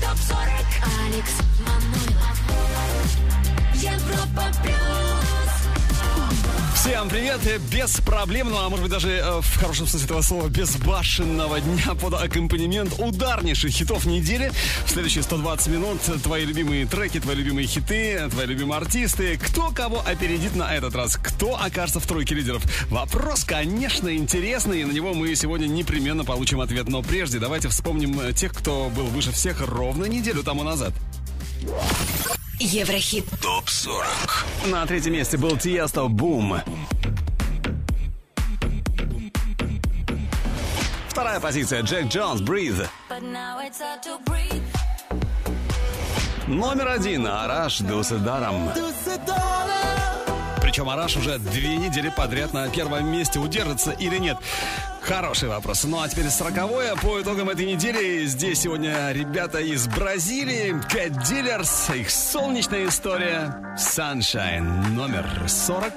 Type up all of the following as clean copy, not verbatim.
ТОП 40. Алекс Манойлов. Европа плюс. Всем привет! Без проблем, ну а может быть даже в хорошем смысле этого слова безбашенного дня под аккомпанемент ударнейших хитов недели. В следующие 120 минут твои любимые треки, твои любимые хиты, твои любимые артисты. Кто кого опередит на этот раз? Кто окажется в тройке лидеров? Вопрос, конечно, интересный, и на него мы сегодня непременно получим ответ. Но прежде давайте вспомним тех, кто был выше всех ровно неделю тому назад. Еврохит ТОП 40. На третьем месте был Тиесто «Boom». Вторая позиция Джек Джонс «Breathe». Номер один Араш «Дуседаром». Причем Араш уже 2 недели подряд на первом месте удержится или нет? Хороший вопрос. Ну а теперь 40-е. По итогам этой недели здесь сегодня ребята из Бразилии, Cat Dealers, их солнечная история Sunshine, номер 40.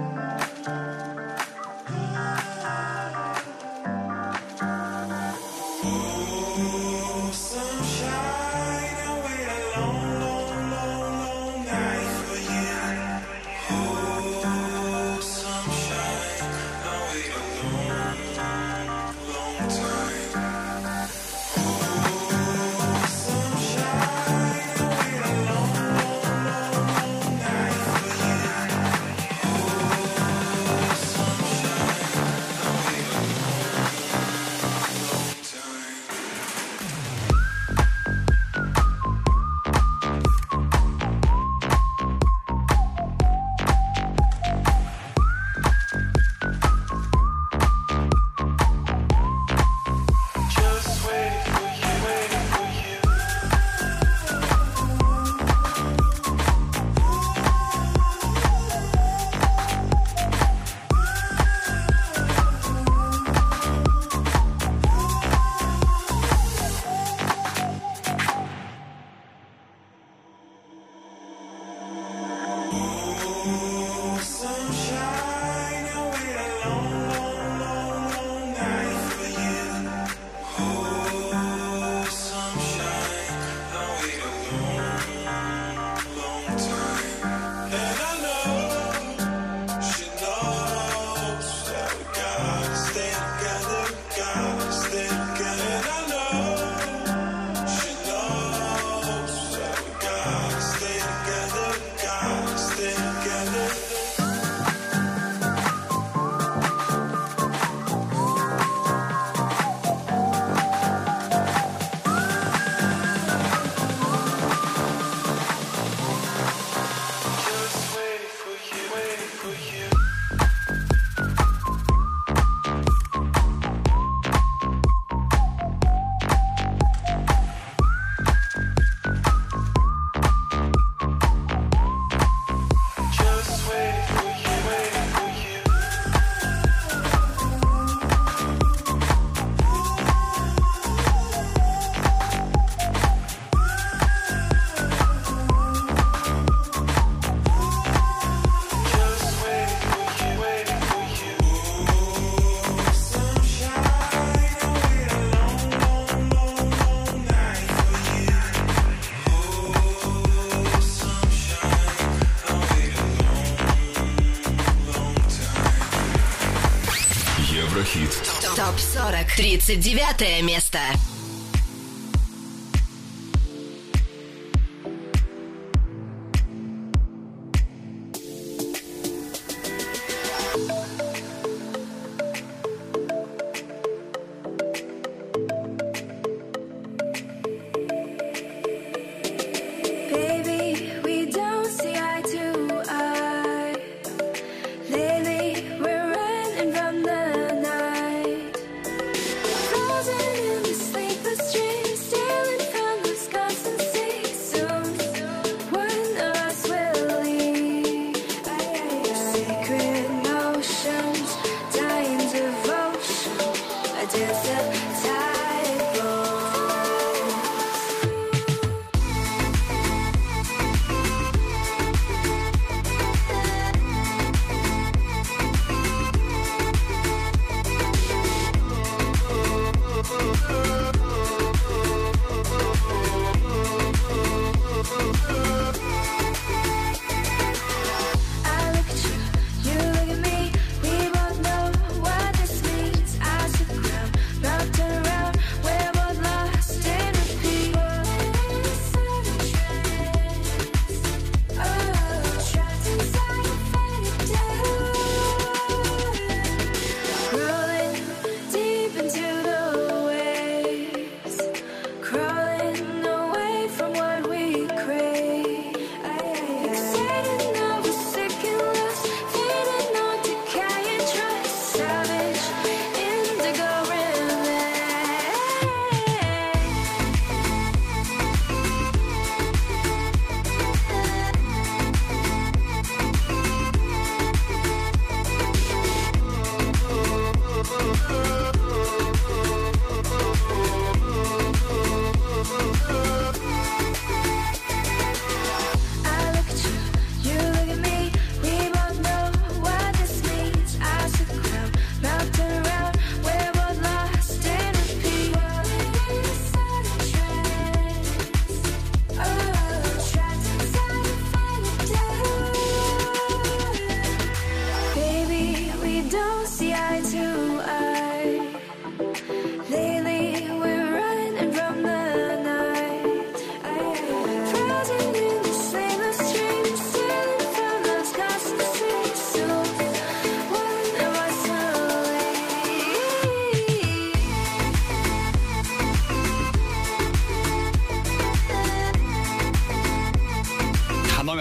ТОП 40. 39 место. Frozen in the sleep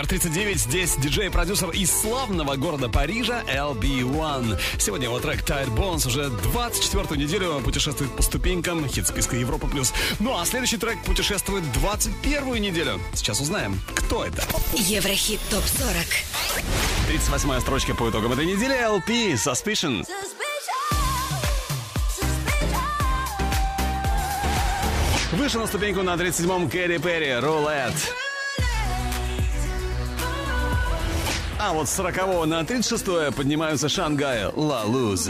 Номер 39. Здесь диджей-продюсер из славного города Парижа LB1. Сегодня его трек Tight Bones уже 24-ю неделю путешествует по ступенькам хит-списка Европа+. Ну а следующий трек путешествует 21-ю неделю. Сейчас узнаем, кто это. Еврохит ТОП-40. 38-я строчка по итогам этой недели. LP Suspicion. Выше на ступеньку на 37-м Кэрри Перри Roulette. А вот с 40-го на 36-е поднимаются Шангай La Luz.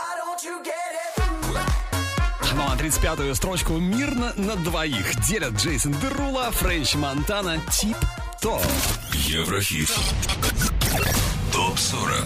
Ну а 35-ю строчку мирно на двоих делят Джейсон Дерула, Френч Монтана, Тип Топ. Еврохит ТОП-40.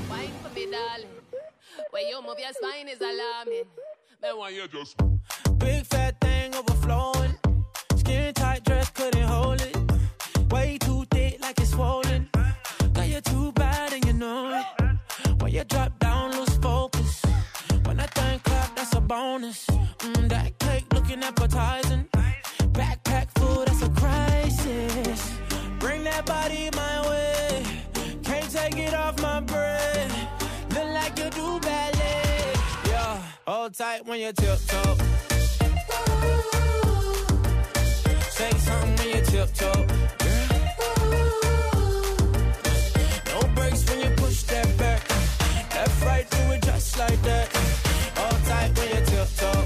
Big fat thing overflowing. Skin tight dress couldn't hold it. Way too thick like it's swollen. Got you too bad and you know it. When you drop down, lose focus. When that thing clap, that's a bonus. That cake looking appetizing. Backpack food, that's a crisis. Bring that body my way. Can't take it off my bread. Look like you do ballet. Yeah, hold tight when you tiptoe. Say something when you tiptoe. No brakes when you push that back. Left, right, do it just like that. Hold tight when you tiptoe.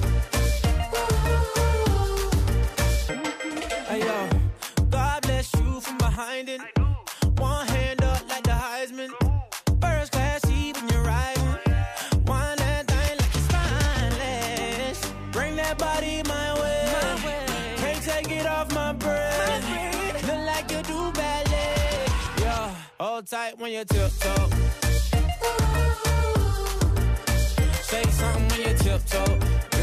Hey yo, God bless you from behind it. One hand up like the Heisman. First class seat when you're riding. One that thing like it's spineless. Bring that body my way. Can't take it off my breath. Look like you do ballet. Yeah, hold tight when you tiptoe. Say something when you tiptoe.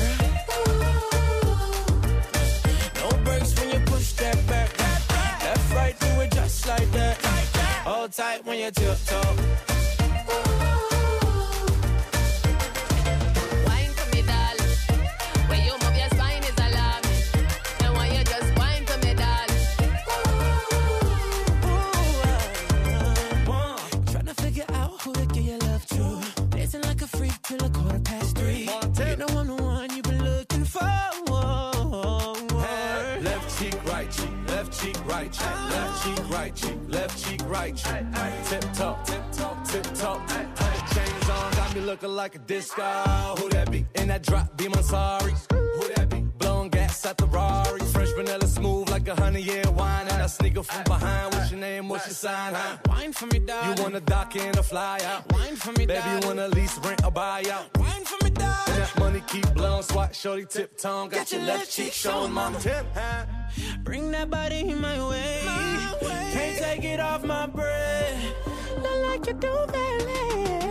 No brakes when you push that back. Left, right, do it just like that. Hold tight when you tiptoe. Wine for me, darling. When you move your spine is alarming. And when you just wine for me, darling. Tryna figure out who to give your love to. Dancing like a freak till 3:15. You know I'm the one you've been looking for. Left cheek, right cheek, left cheek, right cheek, left cheek, right cheek, left cheek, right cheek. Tip top, tip top, tip top. Chains on, got me looking like a disco. Who that be? In that drop, be my sorry. Who that be? Blowing gas at the Rari. Fresh vanilla smooth like a 100-year wine. And I sneaker from behind. What's your name? What's your sign? Huh? Wine for me, darling. You wanna dock in or fly out? Wine for me, Baby, darling. you wanna lease, rent, or buy out? Wine for me, darling. And that money keep blowing, swat, shorty, tip tongue. Got your left cheek showing, mama. Tip, huh? Bring that body my way. Can't take it off my breath. Look like you do ballet.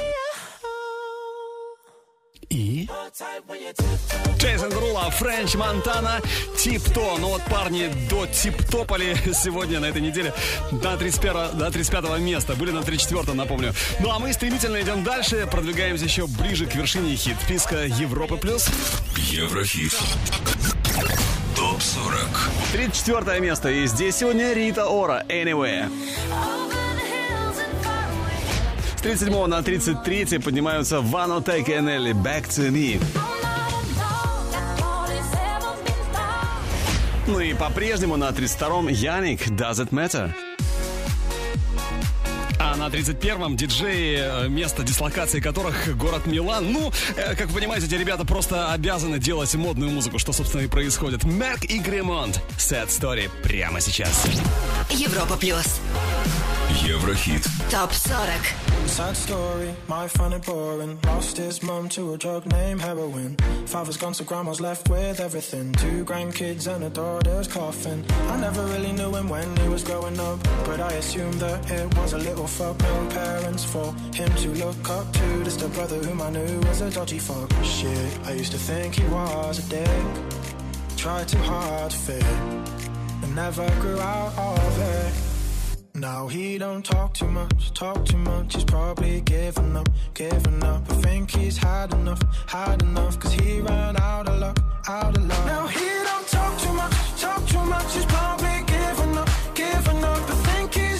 И Hold tight when you tiptoe. Джейсон Дерула, Френч Монтана, Тип-То. Ну вот парни до Тип-Топали сегодня на этой неделе до 35-го места. Были на 34-м, напомню. Ну а мы стремительно идем дальше. Продвигаемся еще ближе к вершине хит-списка Европы+. Еврохит ТОП-40. 34 место. И здесь сегодня Рита Ора, Anywhere. С 37 на 33 поднимаются Вано Тейк и Энели, Back to Me. Ну и по-прежнему на 32-м Яник, Does It Matter. А на 31-м диджеи, место дислокации которых город Милан. Ну, как вы понимаете, эти ребята просто обязаны делать модную музыку, что, собственно, и происходит. Мерк и Гремонт. Sad Story прямо сейчас. Европа+. Еврохит ТОП-40. Sad story, my fun and boring. Lost his mum to a drug named heroin. Father's gone, so grandma's left with everything. 2 grandkids and a daughter's coffin. I never really knew him when he was growing up, but I assumed that it was a little fuck. No parents for him to look up to. Just a brother whom I knew was a dodgy fuck. Shit, I used to think he was a dick. Tried too hard to fit, and never grew out of it. Now he don't talk too much, he's probably given up. I think he's had enough, cause he ran out of luck. Now he don't talk too much, he's probably given up. I think he's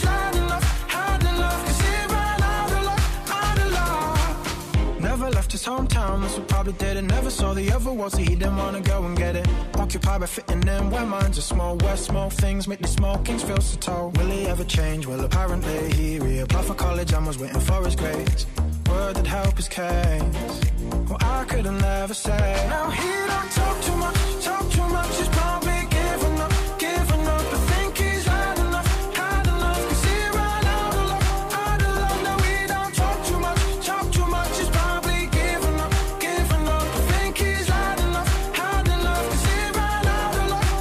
town, that's what probably did it. Never saw the other world, so he didn't wanna go and get it. Occupied by fitting in where minds are small, where small things make the small kings feel so tall. Will he ever change? Well, apparently he reapplied for college and was waiting for his grades. Word that help his case. Well, I couldn't never say. Now he don't talk too much, he's probably giving up, I think he's had enough, cause he ran out of luck. Now he don't talk too much, he's probably giving up, I think he's had enough, cause he ran out of luck.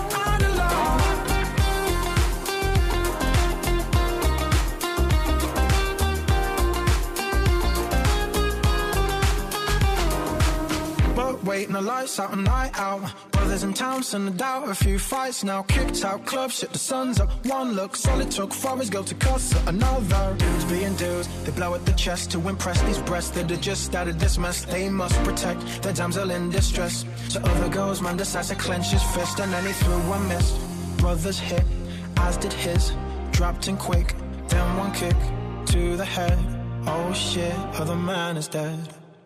But waiting the lights out, a night out. Brothers in town, send a doubt, a few fights now. Kicked out club, shit, the sun's up. One look, all it took for his girl to cuss at another. Dudes being dudes, they blow at the chest to impress these breasts that have just started this mess. They must protect their damsel in distress. So other girls, man decides to clench his fist, and then he threw a miss. Brothers hit, as did his. Dropped in quick, then one kick to the head. Oh shit, other man is dead.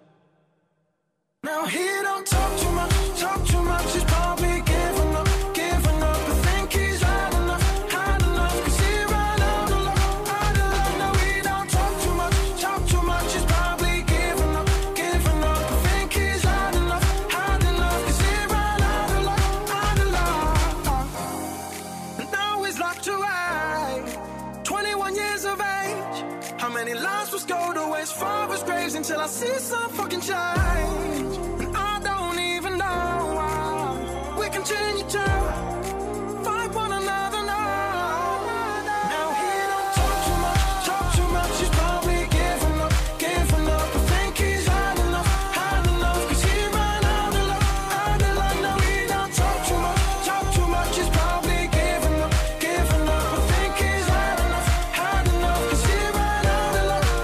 Now he don't talk too much, he's probably giving up, I think he's had enough, cause he ran out of luck. Now he don't talk too much, he's probably giving up, I think he's had enough, cause he ran out of luck. And now he's locked away, 21 years of age. How many lives will go to waste, father's graves, until I see some fucking change. And I don't even know how we continue to fight one another now. Now he don't talk too much, he's probably giving up, I think he's had enough, cause he ran out of luck. Now he don't talk too much, he's probably giving up, I think he's had enough, cause he ran out of luck.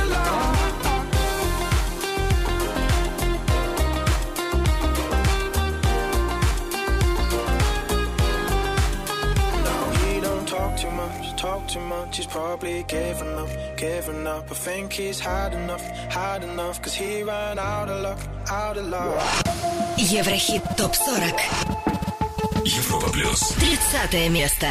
Talk too much, he's probably giving up, I think he's had enough, cause he ran out of luck. Еврохит ТОП-40. Европа плюс. 30 место.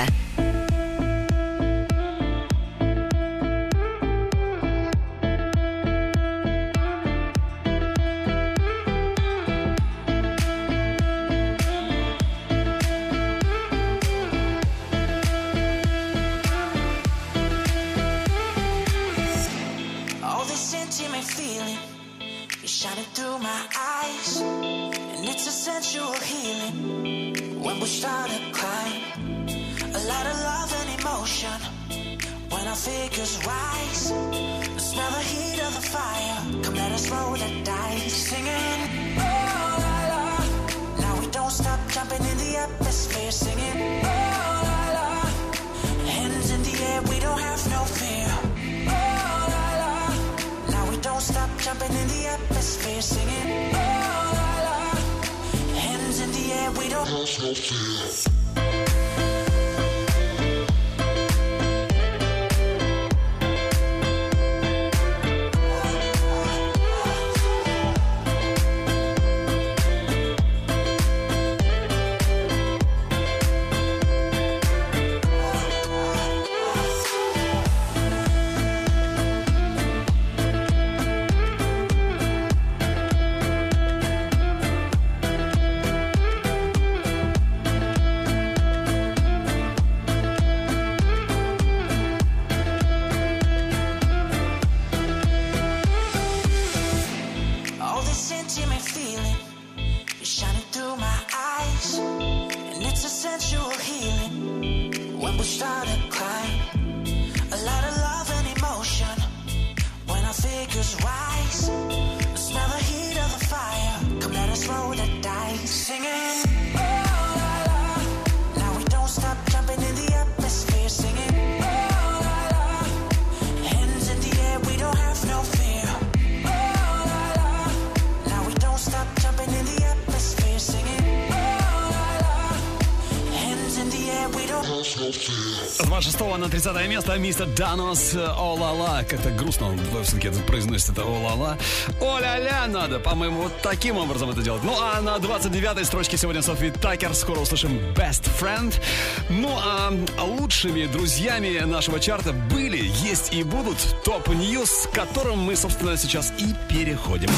С 26 на 30 место мистер Данос «О-ла-ла». Как-то грустно он все-таки произносит это «О-ла-ла». «О-ля-ля» надо, по-моему, вот таким образом это делать. Ну, а на 29-й строчке сегодня Софи Такер. Скоро услышим «Best Friend». Ну, а лучшими друзьями нашего чарта были, есть и будут топ-ньюс, к которым мы, собственно, сейчас и переходим.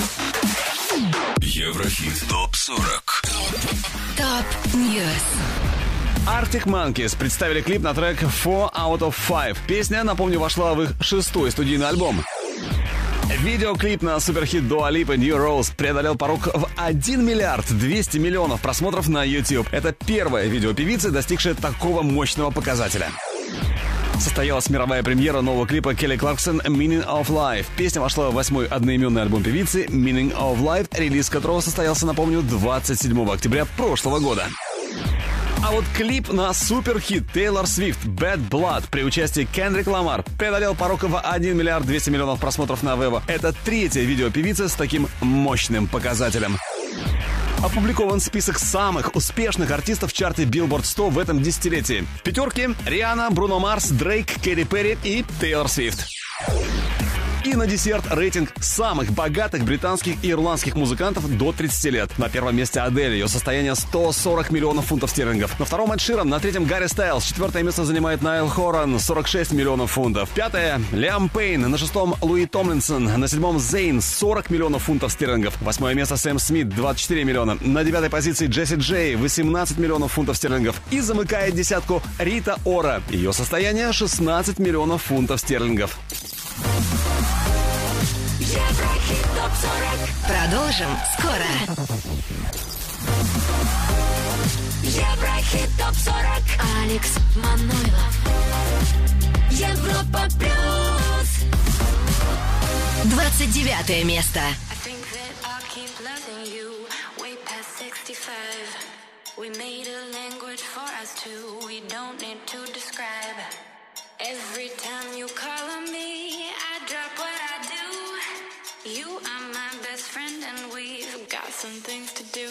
Еврохит ТОП-40. Топ-ньюс. Arctic Monkeys представили клип на трек 4 Out of 5. Песня, напомню, вошла в их 6-й студийный альбом. Видеоклип на суперхит Dua Lipa New Rose преодолел порог в 1 миллиард 200 миллионов просмотров на YouTube. Это первое видео певицы, достигшее такого мощного показателя. Состоялась мировая премьера нового клипа Келли Кларксон «Meaning of Life». Песня вошла в 8-й одноименный альбом певицы «Meaning of Life», релиз которого состоялся, напомню, 27 октября прошлого года. А вот клип на суперхит Тейлор Свифт «Bad Blood» при участии Кендрик Ламар преодолел порог в 1 миллиард 200 миллионов просмотров на Вево. Это третье видео певицы с таким мощным показателем. Опубликован список самых успешных артистов в чарте Billboard 100 в этом десятилетии. В пятерке Риhanna, Бруно Марс, Дрейк, Кэти Перри и Тейлор Свифт. И на десерт рейтинг самых богатых британских и ирландских музыкантов до 30 лет. На первом месте Адель, ее состояние 140 миллионов фунтов стерлингов. На втором Эд Ширан, на третьем Гарри Стайлз. Четвертое место занимает Найл Хоран, 46 миллионов фунтов. Пятое Лиам Пейн, на шестом Луи Томлинсон, на седьмом Зейн, 40 миллионов фунтов стерлингов. Восьмое место Сэм Смит, 24 миллиона. На девятой позиции Джесси Джей, 18 миллионов фунтов стерлингов. И замыкает десятку Рита Ора. Ее состояние 16 миллионов фунтов стерлингов. Еврохит ТОП-40. Продолжим скоро. Еврохит ТОП-40. Алекс Манойлов. Европа плюс. 29 место. We made a language for us two. We don't need to describe. Every time you call on me, I drop what I do. You are my best friend and we've got some things to do.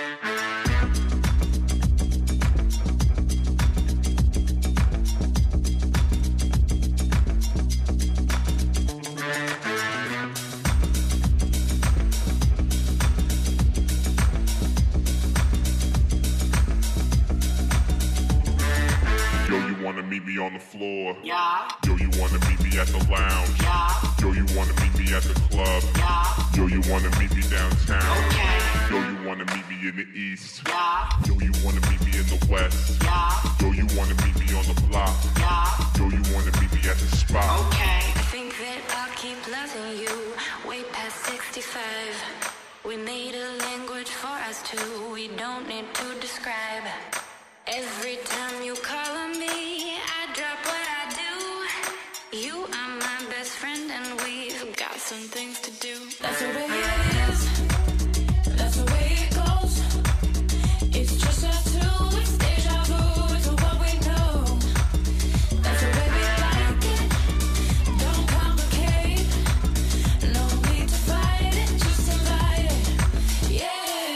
Wanna meet me on the floor? Yeah. Yo, you wanna meet me at the lounge? Yeah. Yo, you wanna meet me at the club? Yeah. Yo, you wanna meet me downtown? Okay. Yo, you wanna meet me in the east? Yeah. Yo, you wanna meet me in the west? Yeah. Yo, you wanna meet me on the block? Yeah. Yo, you wanna meet me at the spot? Okay. I think that I'll keep loving you way past 65. We made a language for us two. We don't need to describe. Every time you call on me, I drop what I do. You are my best friend and we've got some things to do. That's the way it is. That's the way it goes. It's just us two. It's deja vu to what we know. That's the way we like it. Don't complicate. No need to fight it. Just invite it. Yeah.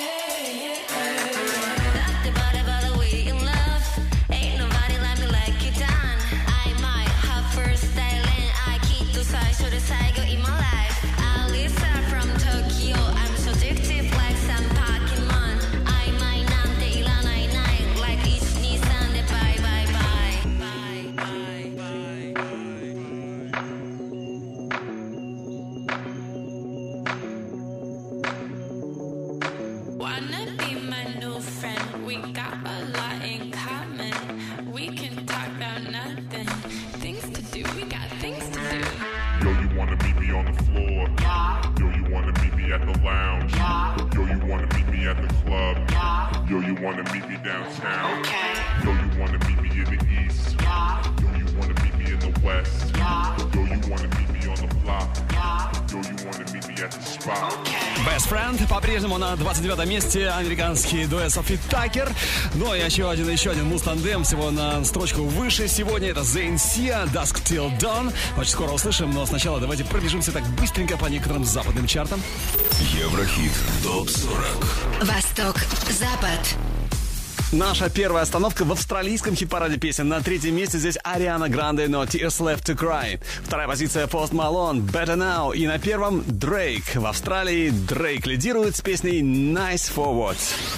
Yo, you wanna meet me downtown? Okay. Yo, you wanna meet me in the east? Yeah. Yo, you wanna meet me in the west? Yeah. Yo, you wanna meet me on the block? Yeah. Yo, you wanna meet me at the spot? Okay. Best Friend по-прежнему на 29 месте. Американский дуэт Софи Такер. Ну и еще один муз-тандем, всего на строчку выше. Сегодня это Зейн Сиа, Dusk Till Dawn. Очень скоро услышим, но сначала давайте пробежимся так быстренько по некоторым западным чартам. Еврохит ТОП-40. Восток, Запад. Наша первая остановка в австралийском хит-параде песен. На третьем месте здесь Ариана Гранде, No Tears Left to Cry. Вторая позиция Post Malone, Better Now. И на первом Дрейк. В Австралии Дрейк лидирует с песней Nice Forward.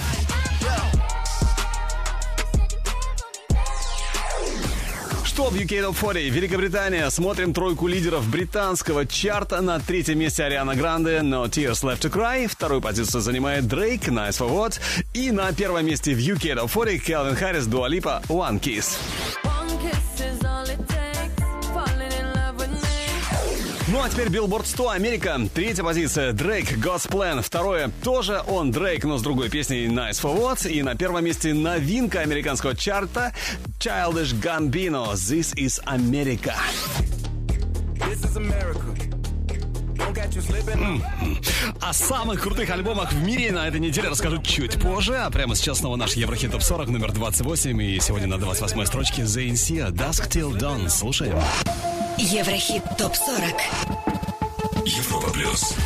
Что в UK Top 40? Великобритания. Смотрим тройку лидеров британского чарта. На третьем месте Ариана Гранде, No Tears Left to Cry. Вторую позицию занимает Дрейк, Nice For What. И на первом месте в UK Top 40 Кельвин Харрис, Дуа Липа, One Kiss. Ну а теперь Billboard 100 Америка. Третья позиция Дрейк, God's Plan. Второе тоже он, Дрейк, но с другой песней Nice For What. И на первом месте новинка американского чарта Childish Gambino, This Is America. This is America. О самых крутых альбомах в мире на этой неделе расскажу чуть позже. А прямо сейчас снова наш Еврохит Топ 40 номер 28. И сегодня на 28-й строчке The NC, Dusk Till Dawn. Слушаем. Еврохит Топ 40. Европа плюс.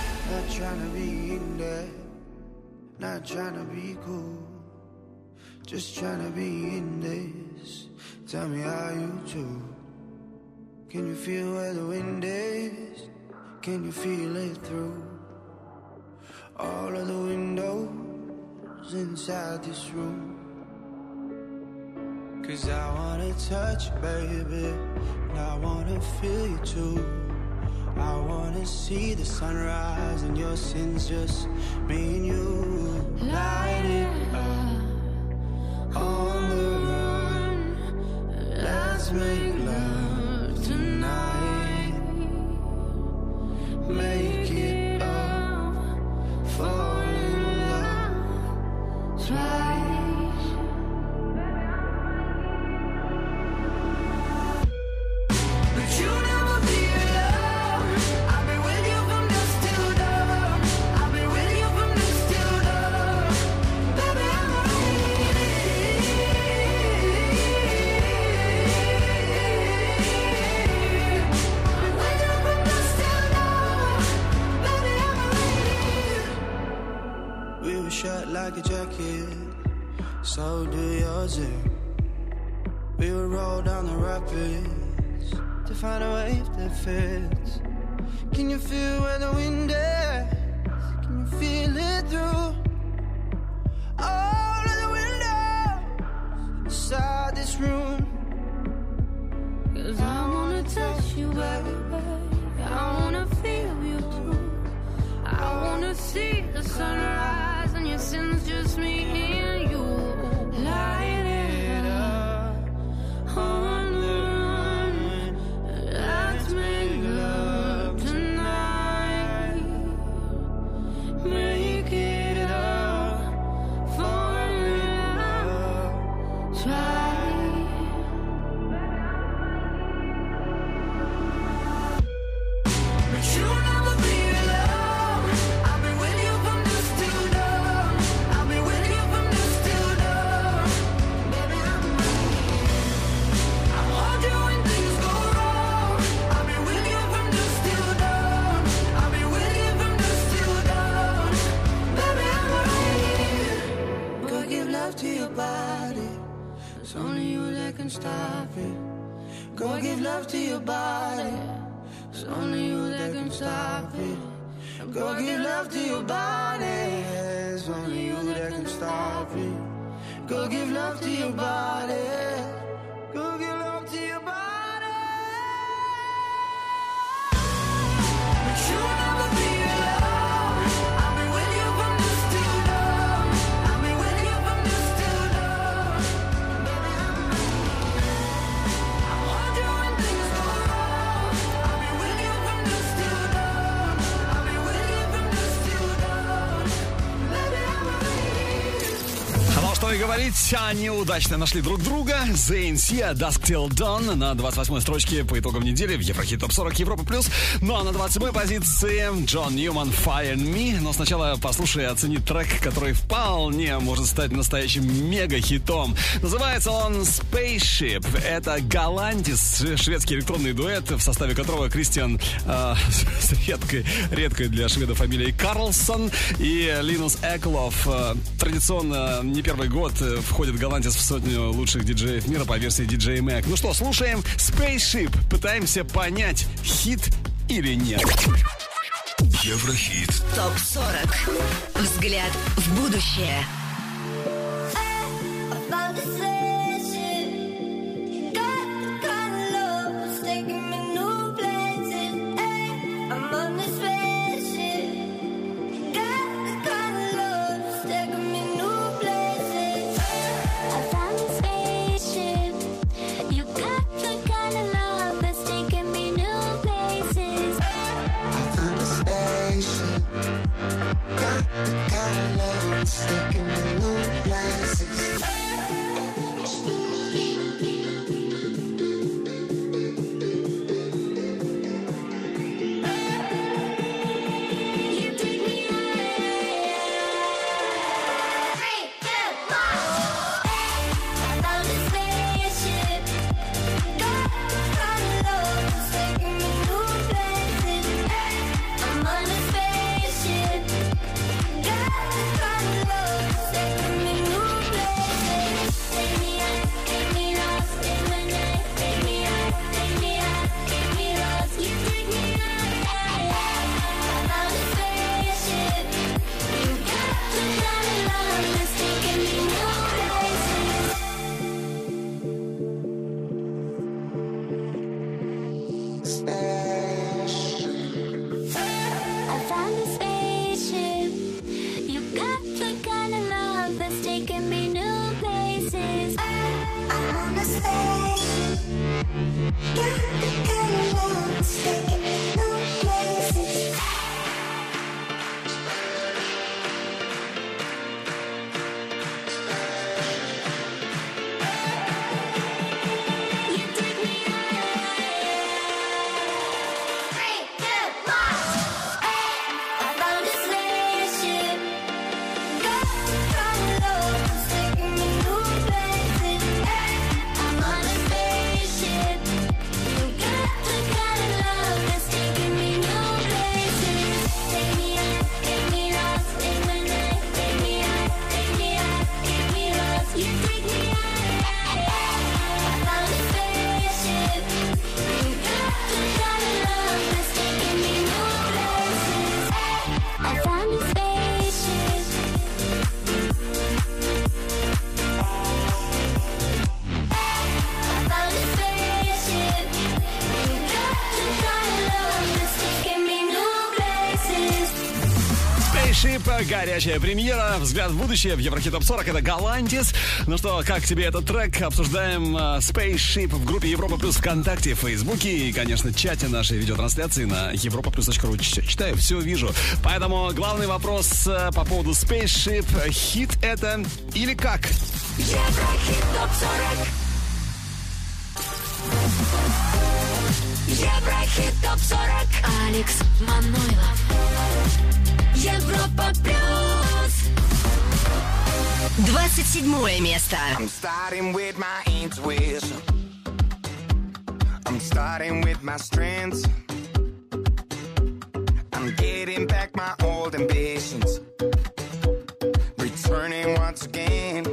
Not trying to be cool, just trying to be in this. Tell me how you do. Can you feel where the wind is? Can you feel it through all of the windows inside this room? 'Cause I wanna touch you, baby, and I wanna feel you too. I wanna see the sunrise and your sins, just me and you. Light it up on the run. Let's make love tonight. Make it up, fall in love twice. But you never be alone. I'll be with you from dusk till dawn. I'll be with you from dusk till dawn. Baby, I'm shut like a jacket, so do yours. We would roll down the rapids to find a wave that fits. Can you feel where the wind is? Can you feel it through all of the windows inside this room? 'Cause I wanna touch you, baby. I wanna feel you too. I wanna see the sunrise and your sins, just me and you. Light it up on the run. Let's make love tonight. Make it up, fall in love, try. But you'll never be alone. I'll be with you from dusk till dawn. I'll be with you from dusk till dawn. Baby, I'll hold you when things go wrong. I'll be with you from dusk till dawn. I'll be with you from dusk till dawn. Baby, I'm ready. Go give love to your body. It's only you that can stop it. Go give love to your body. It's only you that can stop it. Go give love to your body. It's only you that can stop it. Go give love to your body. Go give love to your body. But you'll never be alone. I'll be with you from dusk till dawn. I'll be with you from dusk till dawn. Baby, I'll hold you when things go wrong. I'll be with you from dusk till dawn. I'll be with you from dusk till dawn. Baby, I'm ready. Ну что и говорить, они удачно нашли друг друга. ZNC, Dusk Till Dawn на 28-й строчке по итогам недели в Еврохит Топ 40 Европа Плюс. Ну а на 27-й позиции Джон Ньюман Fire and Me. Но сначала послушай и оцени трек, который вполне может стать настоящим мега-хитом. Называется он Spaceship. Это Галантис, шведский электронный дуэт, в составе которого Кристиан с редкой для шведов фамилией Карлсон и Линус Эклов. Традиционно не первый год входит голландец в сотню лучших диджеев мира по версии DJ Mag. Ну что, слушаем Spaceship. Пытаемся понять, хит или нет. Еврохит. ТОП-40. Взгляд в будущее. Горячая премьера, взгляд в будущее в Еврохит Топ 40. Это голландец. Ну что, как тебе этот трек? Обсуждаем Spaceship в группе Европа Плюс ВКонтакте, в Фейсбуке и, конечно, чате нашей видеотрансляции на europaplus.ru. Читаю, все вижу. Поэтому главный вопрос по поводу Spaceship. Хит это или как? Еврохит Топ 40. Еврохит Топ 40. Алекс Манойлов. Европа Плюс. 27 место. I'm starting with my intuition. I'm starting with my strengths. I'm getting back my old ambitions. Returning once again.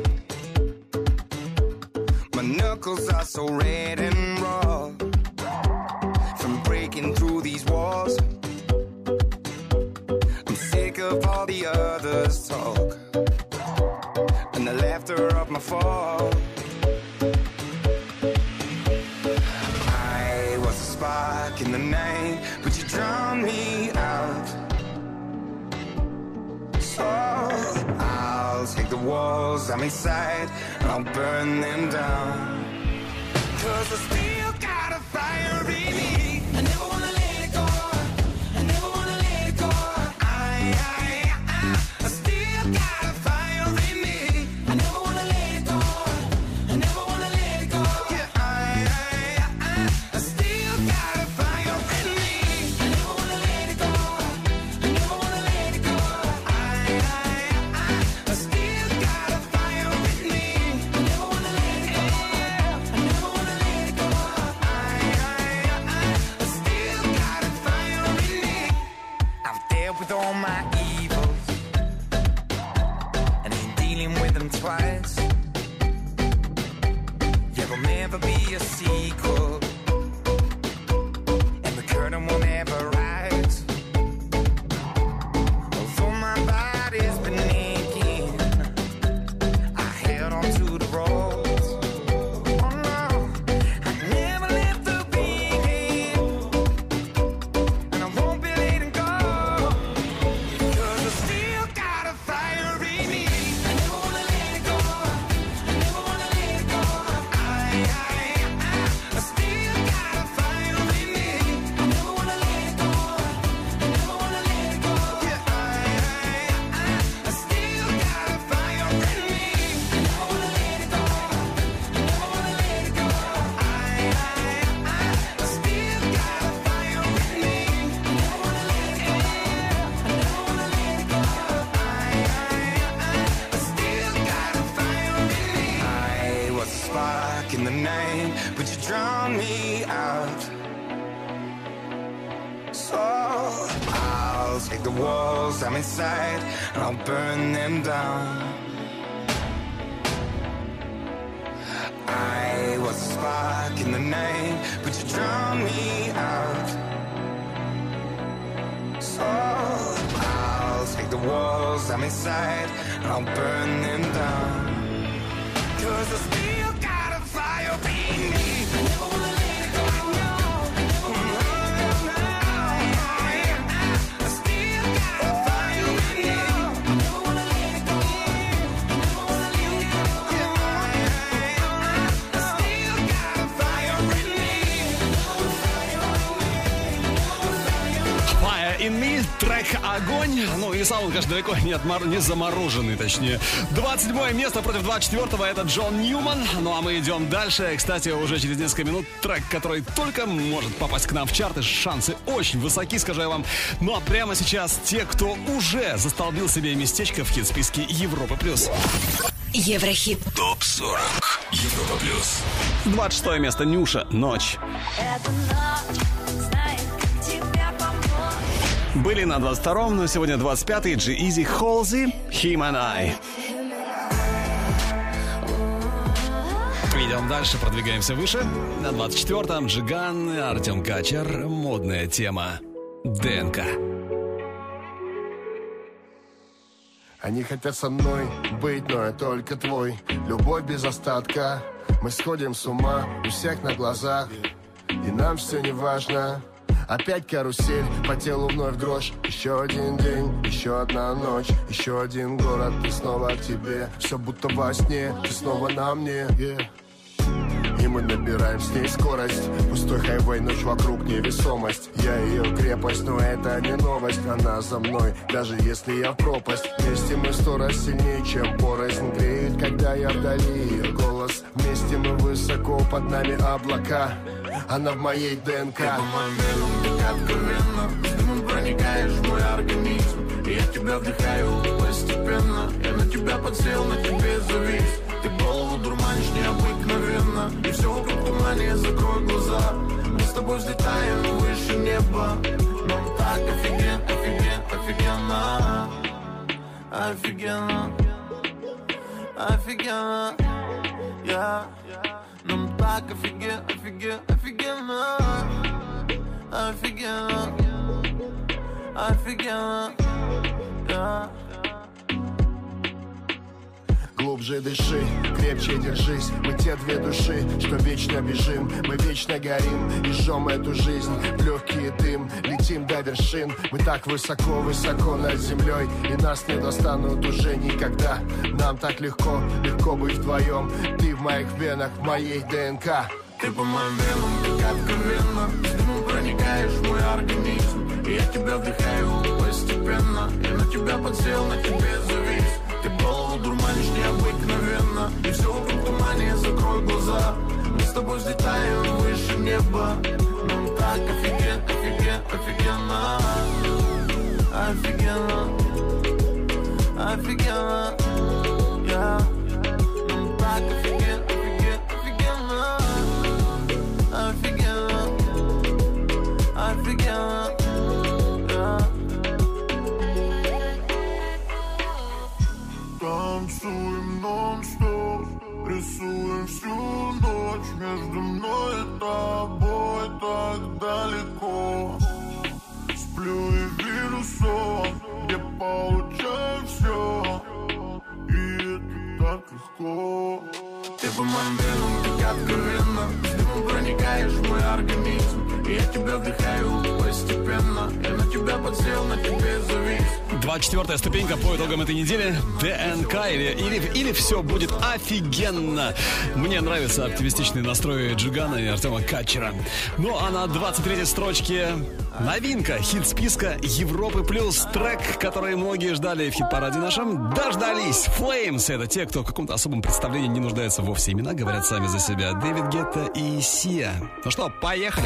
My knuckles are so red and raw from breaking through these walls. Of all the others' talk and the laughter of my fall. I was a spark in the night, but you drowned me out. So I'll take the walls I'm inside and I'll burn them down. 'Cause I still got a fire in me. I never wanna let it go. I never wanna let it go. I still got a fire in me. I never wanna let it go. I never wanna let it go. Yeah, I still got a fire in me. I never wanna let it go. I never wanna let it go. I still got a fire in me. I never wanna let it go. I never wanna let it go. twice. Yeah, there'll never be a sequel, and the curtain will never rise. Although my body's been aching, I held on to the ropes. Oh no, I never left the beginning, and I won't be letting go, 'cause I still got a fire in me. I never wanna let it go. I never wanna let it go. I still got a fire in me. I never wanna let it go. I never wanna let it go. Yeah, I still got a fire in me. I never wanna let it go. I never wanna let it go. I still got a fire in me. I never wanna let it go. I never wanna let it go. I still got a fire in me. I was a spark in the night, but you drowned me out. So I'll take the walls I'm inside and I'll burn them down. I was a spark in the night, but you drowned me out. So I'll take the walls I'm inside and I'll burn them down. 'Cause I still got a fire in me. I never wanna let it go. No, I never wanna let it go. I still got a fire in me. I never wanna let it go. I never wanna let it go. I still got a fire in me. Fire in Me, трек «Огонь». Ну и сам он, конечно, далеко не замороженный, точнее. 27 место против 24-го, это Джон Ньюман. Ну а мы идем дальше. Кстати, уже через несколько минут трек, который только может попасть к нам в чарты. Шансы очень высоки, скажу я вам. Ну а прямо сейчас те, кто уже застолбил себе местечко в хит-списке Европы+. Еврохит. ТОП-40 Европа плюс. 26 место Нюша, «Ночь». Эта ночь знает, как тебя помочь. Были на 22-м, но сегодня 25-й. G-Eazy, Halsey, Him and I. Идем дальше, продвигаемся выше. На 24-м Джиган, Артем Качер, модная тема ДНК. Они хотят со мной быть, но я только твой. Любовь без остатка. Мы сходим с ума у всех на глазах, и нам все не важно. Опять карусель, по телу вновь дрожь. Еще один день, еще одна ночь, еще один город, и снова к тебе. Все будто во сне, ты снова на мне, yeah. И мы набираем с ней скорость. Пустой хайвей, ночь вокруг, невесомость. Я ее крепость, но это не новость. Она за мной, даже если я в пропасть. Вместе мы 100 раз сильнее, чем порознь. Греет, когда я вдали, ее голос. Вместе мы высоко, под нами облака. Она в моей ДНК. Ты по моим венам, так откровенно. С дымом проникаешь в мой организм, и я тебя вдыхаю постепенно. Я на тебя подсел, на тебе завис. Ты голову дурманишь необыкновенно, и все вокруг тумане, закрой глаза. Мы с тобой взлетаем выше неба. Нам так офигенно, офигенно, офигенно, офигенно, yeah. Нам так офигенно, офигенно, офигенно, офигенно, yeah. Глубже дыши, крепче держись. Мы те две души, что вечно бежим. Мы вечно горим и жжем эту жизнь в легкий дым. Летим до вершин. Мы так высоко, высоко над землей, и нас не достанут уже никогда. Нам так легко, легко быть вдвоем. Ты в моих венах, в моей ДНК. Ты по моим венам, так откровенно. С дымом проникаешь в мой организм, и я тебя вдыхаю постепенно. Я на тебя подсел, на тебе завис. Ты голову дурманишь необыкновенно, и все вокруг тумане, закрой глаза. Мы с тобой взлетаем выше неба. Нам так офигенно, офигенно, офигенно, офигенно, yeah. Нам так офигенно, офигенно, офигенно, офигенно, yeah. Танцуем нон-стоп. Рисуем всю ночь между мной и тобой так далеко. Сплю и вижу сон, где получаю все, и это так легко. Ты по моим венам, как откровенно, с дымом проникаешь в мой организм, и я тебя вдыхаю постепенно, я на тебя подсел, на тебе завис. 24-я ступенька по итогам этой недели. ДНК или все будет офигенно. Мне нравится оптимистичный настрой Джигана и Артема Качера. Ну а на 23-й строчке новинка хит-списка Европы плюс. Трек, который многие ждали в хит-параде нашем, дождались. Flames — это те, кто в каком-то особом представлении не нуждается вовсе. Имена говорят сами за себя. Дэвид Гетта и Сия. Ну что, поехали.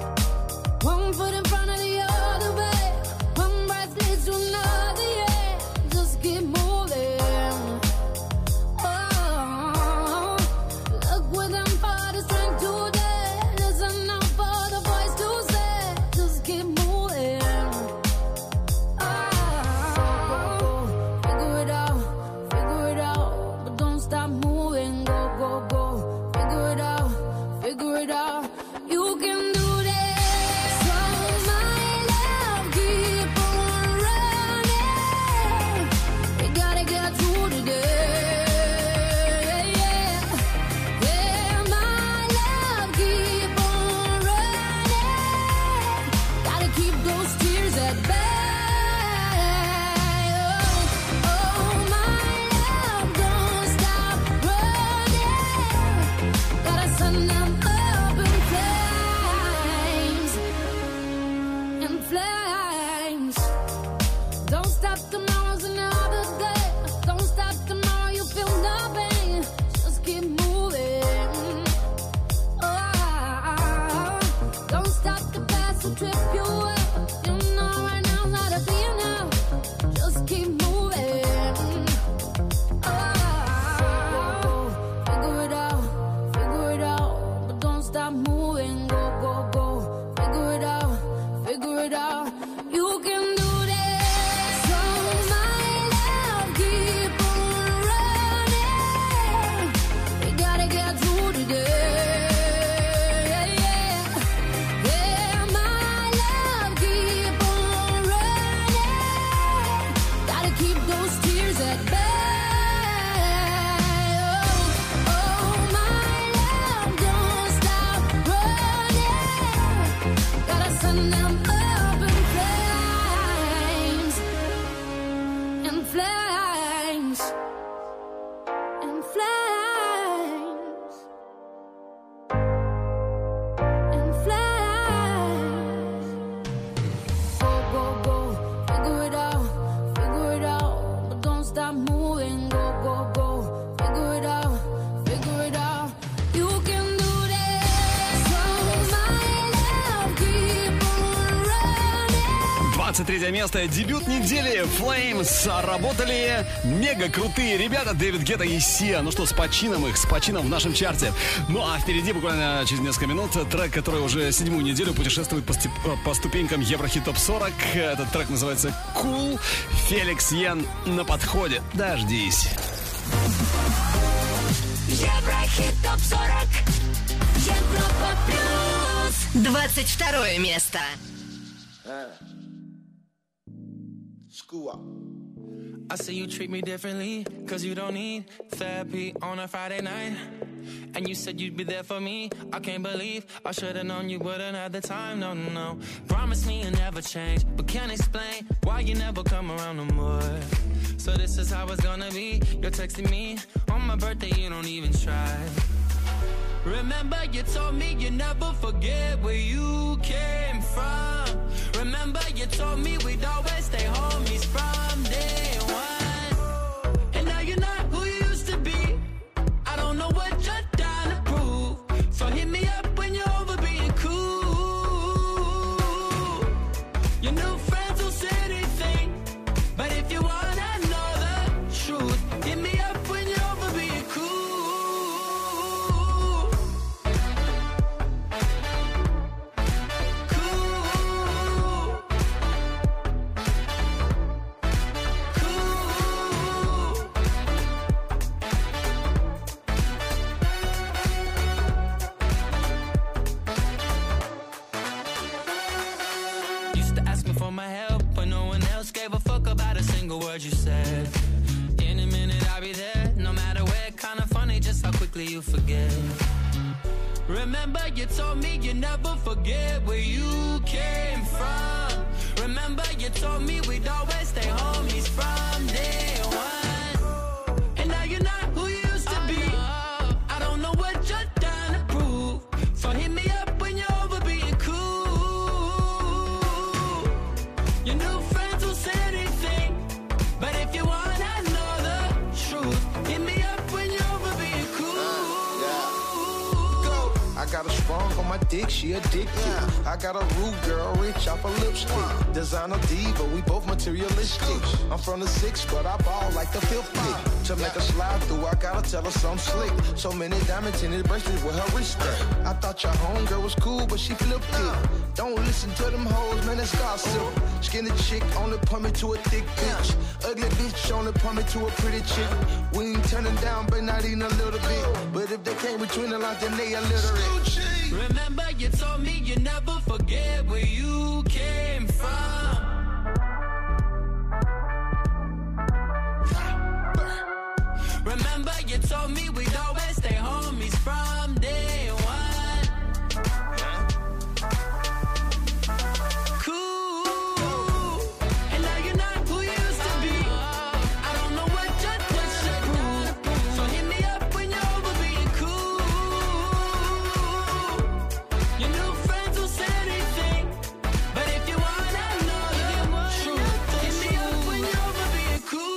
Третье место. Дебют недели. Flames работали мега крутые ребята Дэвид Гетта и Сия. Ну что, с почином их, с почином в нашем чарте. Ну а впереди буквально через несколько минут трек, который уже 7-ю неделю путешествует по ступенькам Еврохит Топ 40. Этот трек называется Cool. Феликс Йен на подходе. Дождись. Еврохит Топ 40. Европа плюс. 22 место. I see you treat me differently, cause you don't need therapy on a Friday night. And you said you'd be there for me. I can't believe I should've known you wouldn't have the time, no, no. Promise me you'll never change, but can't explain why you never come around no more. So this is how it's gonna be. You're texting me on my birthday, you don't even try. Remember you told me you never forget where you came from. Remember you told me we'd always stay homies from day one. And now you're not who you used to be. I don't know what you're trying to prove. So hit me up when you're over being cool. Your new friends will say anything, but if you wanna know the truth, hit me up when you're over being cool. quickly you forget. Remember you told me you never forget where you came from. Remember you told me we'd always stay homies from day one. And now you're not who you used to be. I don't know what you're trying to prove, so hit me up when you're over being cool. Your new friends will say anything, but if you wanna know the truth, hit me up when you're over being cool. Go. I got a sprung on my dick, she addicted. I got a rude girl, rich off a lipstick. Designer diva, we both materialistic. I'm from the 6, but I ball like the 5th pick. To make her slide through, I gotta tell her something slick. So many diamonds in his bracelets with her wrist at. I thought your homegirl was cool, but she flipped it. Don't listen to them hoes, man, that's gossip. Skinny chick only put me to a thick bitch. Ugly bitch only put me to a pretty chick. We ain't turning down, but not even a little bit. But if they came between the lines, then they illiterate. Remember you told me you never forget where you came from. Remember you told me we'd always stay homies from day one. Cool. And now you're not who you used to be. I don't know what you're trying to prove, so hit me up when you're over being cool. Your new friends will say anything, but if you wanna know the truth, hit me up when you're over being cool.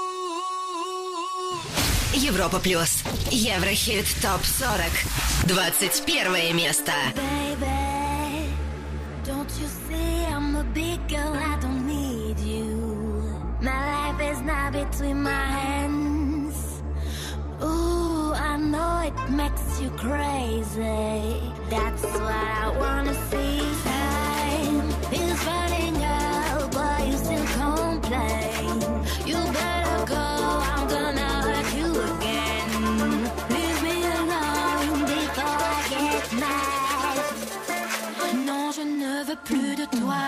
Европа плюс. Еврохит топ 40. 21 место. Baby, don't you see I'm a big girl, I don't need you. My life is now between my hands. Ooh, I know it makes you crazy. That's what I wanna see. Time is running out, but you still complain. You better go, I'm gonna hurt you again. Leave me alone before I get mad. Non, je ne veux plus de toi.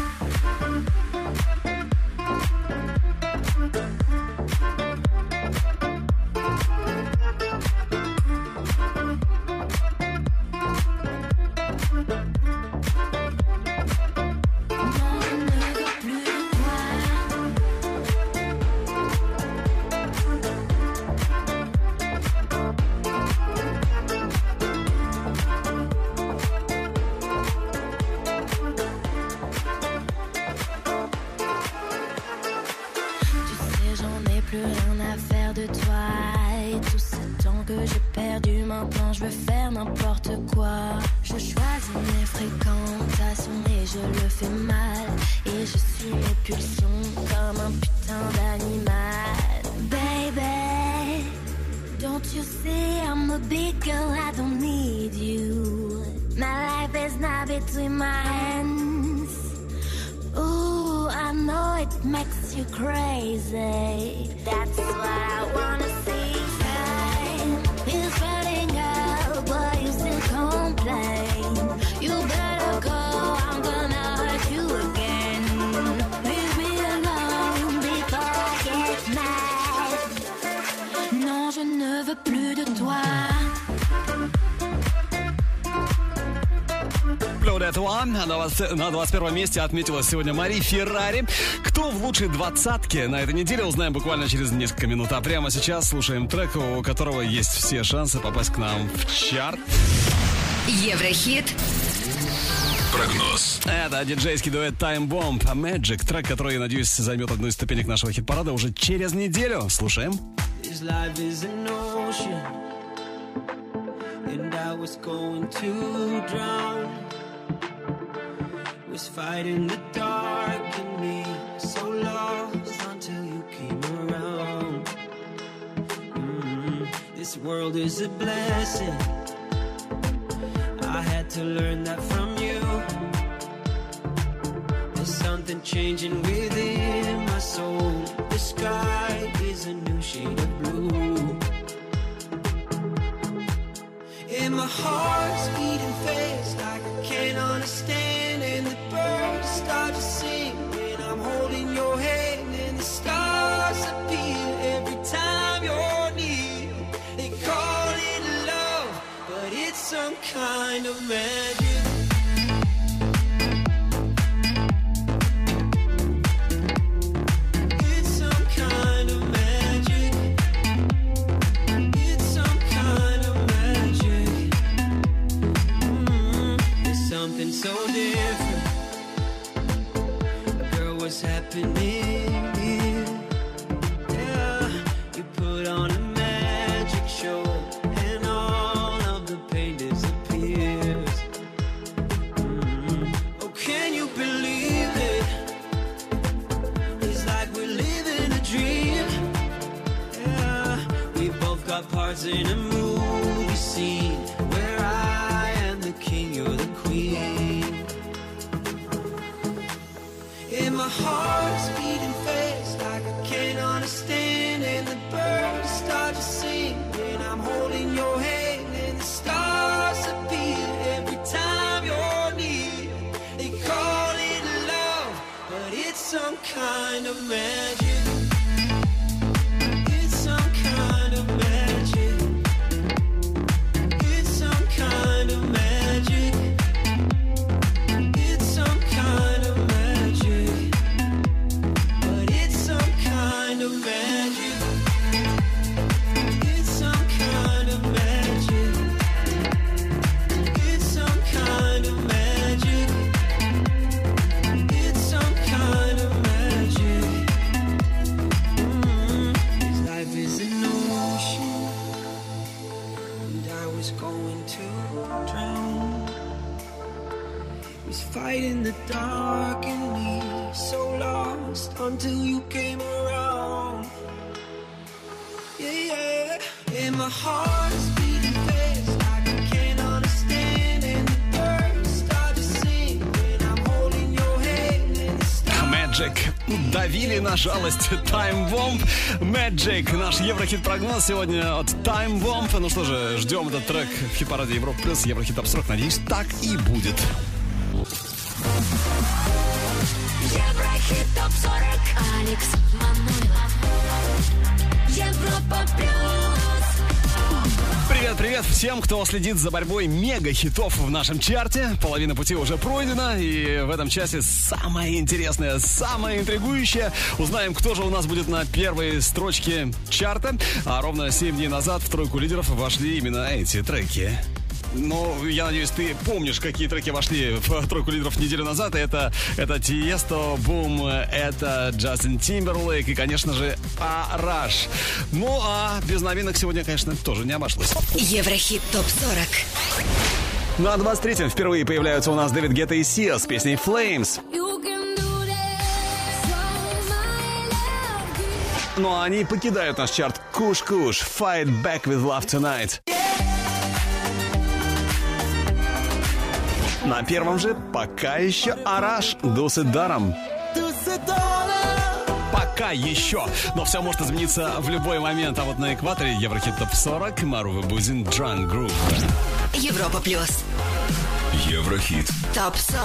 Plus rien à faire de toi. Et tout ce temps que j'ai perdu, maintenant je veux faire n'importe quoi. Je choisis mes fréquentations et je le fais mal. Et je suis mes pulsions comme un putain d'animal. Baby, don't you see I'm a big girl, I don't need you. My life is now between my hands. Ooh, I know it makes you crazy. That's what I wanna see. Time is running out, but you still complain. You better go, I'm gonna hurt you again. Leave me alone before I get mad. Non, je ne veux plus de toi. Этого на 21 месте отметилась сегодня Мари Феррари. Кто в лучшей двадцатке на этой неделе, узнаем буквально через несколько минут. А прямо сейчас слушаем трек, у которого есть все шансы попасть к нам в чарт. Еврохит. Прогноз. Это диджейский дуэт Time Bomb Magic. Трек, который, я надеюсь, займет одну из ступенек нашего хит-парада уже через неделю. Слушаем. And I was going to drown. Was fighting the dark in me, so lost until you came around. This world is a blessing. I had to learn that from you. There's something changing within my soul. The sky is a new shade of blue. And my heart's beating fast like I can't understand. And the birds start to sing when I'm holding your hand. And the stars appear every time you're near. They call it some kind of magic. It's some kind of magic. It's some kind of magic. It's something so different. Girl, what's happening here? Yeah, you put on a magic show and all of the pain disappears. Oh, can you believe it? It's like we're living a dream. Yeah, we both got parts in a movie scene where I am the king, you're the queen. And my heart's beating fast like I can't understand. And the birds start to sing when I'm holding your hand. And the stars appear every time you're near. They call it love, but it's some kind of magic. It's some kind of magic. It's some kind of magic. It's some kind of magic. But it's some kind of magic. It's some kind of magic. It's some kind of magic. It's some kind of magic. This life is an ocean, and I was going to drown. Was fighting the dark in me, so lost until you came around. Yeah, yeah. And my heart's beating fast like I can't understand. And the birds start to sing when I'm holding your hand. And the stars Magic. Давили на жалость Time Bomb. Magic. Наш Еврохит-прогноз сегодня от Time Bomb. Ну что же, ждем этот трек в хит-параде Европа Плюс. Еврохит Топ 40. Надеюсь, так и будет. Еврохит топ 40. Алекс Манойлов. Европа плюс. Привет всем, кто следит за борьбой мега-хитов в нашем чарте. Половина пути уже пройдена, и в этом часе самое интересное, самое интригующее. Узнаем, кто же у нас будет на первой строчке чарта. А ровно 7 дней назад в тройку лидеров вошли именно эти треки. Ну, я надеюсь, ты помнишь, какие треки вошли в тройку лидеров неделю назад. Это Тиесто, Бум, это Джастин Тимберлейк и, конечно же, Араш. Ну, а без новинок сегодня, конечно, тоже не обошлось. Еврохит ТОП-40. На 23-м впервые появляются у нас Дэвид Гетта и Сиа с песней «Flames». Ну, а они покидают наш чарт. Куш-Куш, Fight Back With Love Tonight. На первом же пока еще Араш, Дусы даром. Пока еще. Но все может измениться в любой момент. А вот на экваторе Еврохит Топ 40, Марува Бузин, Drunk Groove. Европа Плюс. Еврохит. Топ 40.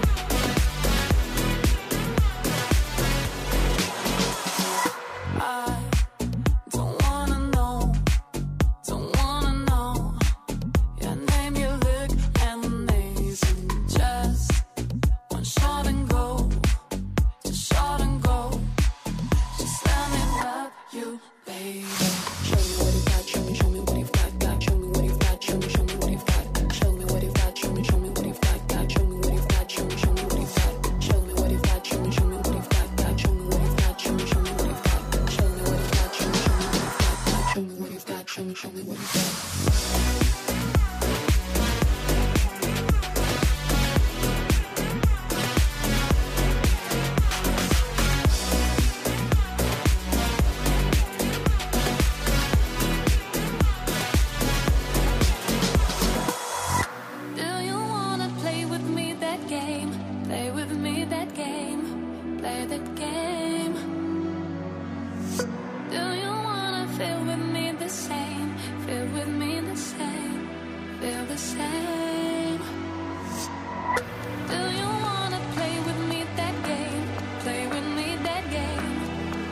I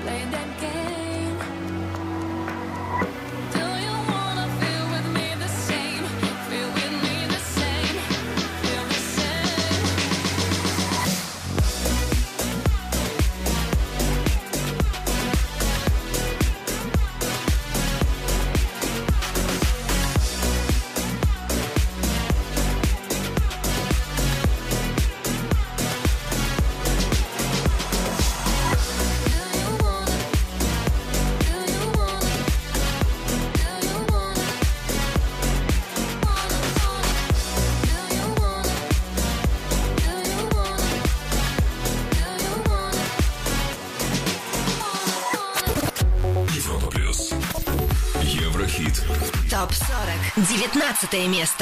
play that game. Do you wanna feel with me the same? Feel with me the same. Feel the same. Европа плюс. Еврохит. ТОП-40. 19 место.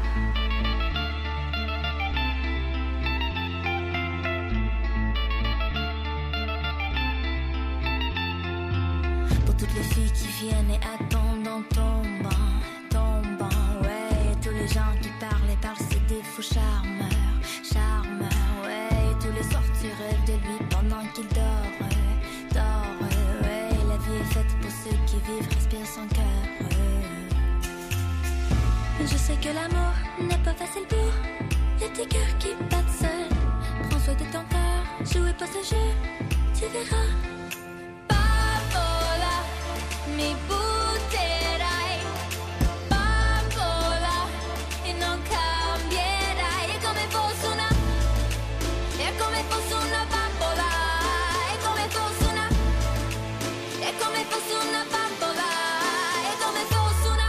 Pour toutes les filles qui viennent et attendent dans ton banc, ouais. Tous les gens qui parlent et parlent, c'est des faux charmeurs, ouais. Tous les soirs tu rêves de lui pendant qu'il dort, ouais. La vie est faite pour ceux qui vivent, respirent sans cœur. Je sais que l'amour n'est pas facile pour les petits cœurs qui battent seuls. Prends soin de ton cœur, jouez pas ce jeu, tu verras. Bambola, mi butterai. Bambola, e non cambierai. È come fosse una bambola. È come fosse una bambola. È come fosse una.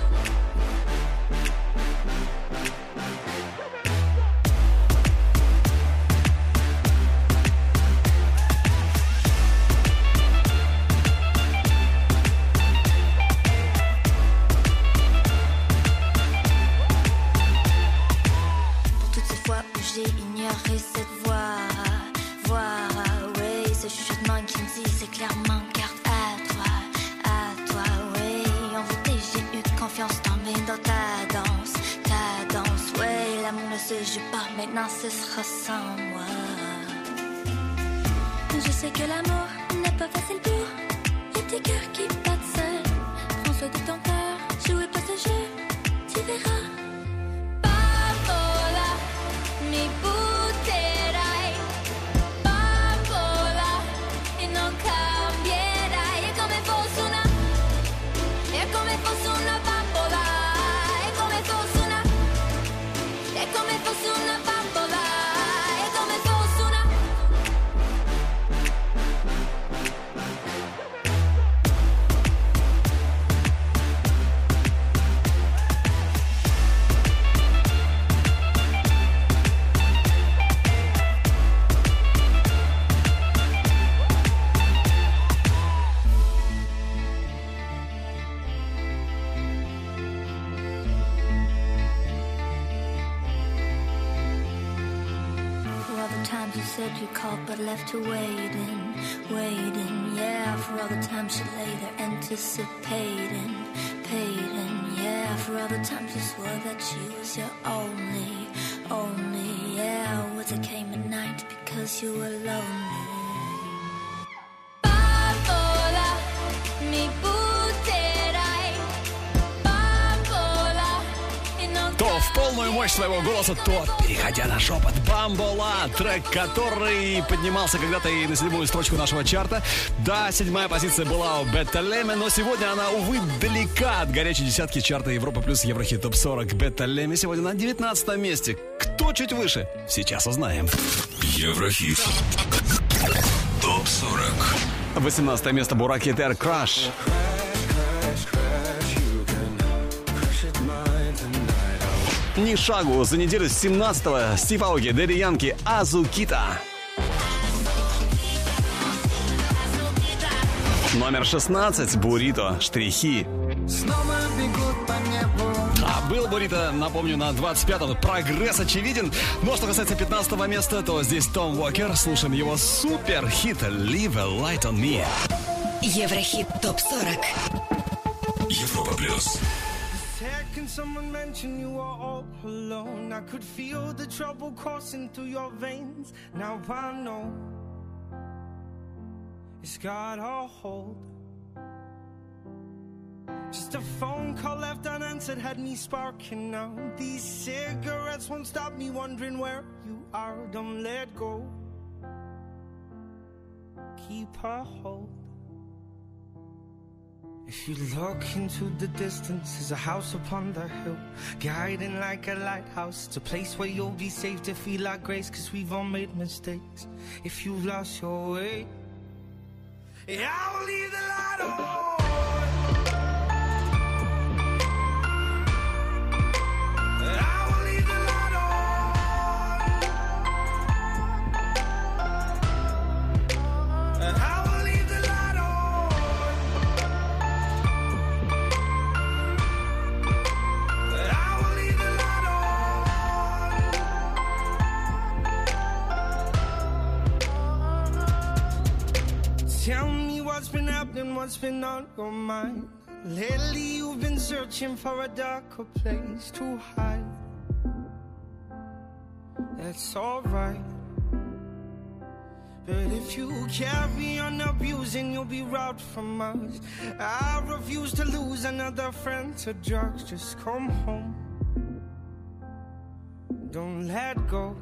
Pour toutes ces fois où j'ai ignoré cette voix, oui, ce chuchotement qui me dit c'est clairement garde à toi, oui. En vérité, j'ai eu confiance dans ta danse, oui. L'amour ne se joue pas, maintenant ce sera sans moi. Je sais que l'amour n'est pas facile pour les petits cœurs qui battent seuls. Prends soin de ton cœur, jouez pas ce jeu, tu verras. Bambola, mi butterai. Bambola, e non cambierai. È come fosse una bambola. È come fosse una bambola. È come fosse una. For all the times you said you called but left her waiting. Yeah, for all the times you lay there anticipating. Yeah, for all the times you swore that she was your only. Yeah, words that came at night because you were lonely. Bambola, mi butterai. Bambola, e non То в полную мощь своего голоса, то переходя на шепот. Бамбола, трек, который поднимался когда-то и на 7-ю строчку нашего чарта. Да, 7-я позиция была у Бетта Леми, но сегодня она, увы, далека от горячей десятки чарта Европа плюс Еврохит ТОП-40. Бетта Леми сегодня на 19 месте. Кто чуть выше? Сейчас узнаем. Еврохит. ТОП-40. 18 место Бурак Хитер, Краш. Ни шагу за неделю с 17-го Стив Ауги, Дэдди Янки, Азукита. Номер 16 Бурито, Штрихи. Снова бегут по небу. А был Бурито, напомню, на 25-м. Прогресс очевиден. Но что касается 15-го места, то здесь Том Уокер. Слушаем его супер-хит «Leave a Light on Me». Еврохит ТОП-40. Европа плюс. Can someone mention you are all alone? I could feel the trouble coursing through your veins. Now I know it's got a hold. Just a phone call left unanswered had me sparking now. These cigarettes won't stop me wondering where you are. Don't let go, keep a hold. If you look into the distance, there's a house upon the hill, guiding like a lighthouse. It's a place where you'll be safe to feel our grace, cause we've all made mistakes. If you've lost your way, yeah, I will leave the light on. Tell me what's been happening, what's been on your mind. Lately you've been searching for a darker place to hide. That's alright, but if you carry on abusing, you'll be robbed from us. I refuse to lose another friend to drugs. Just come home, don't let go.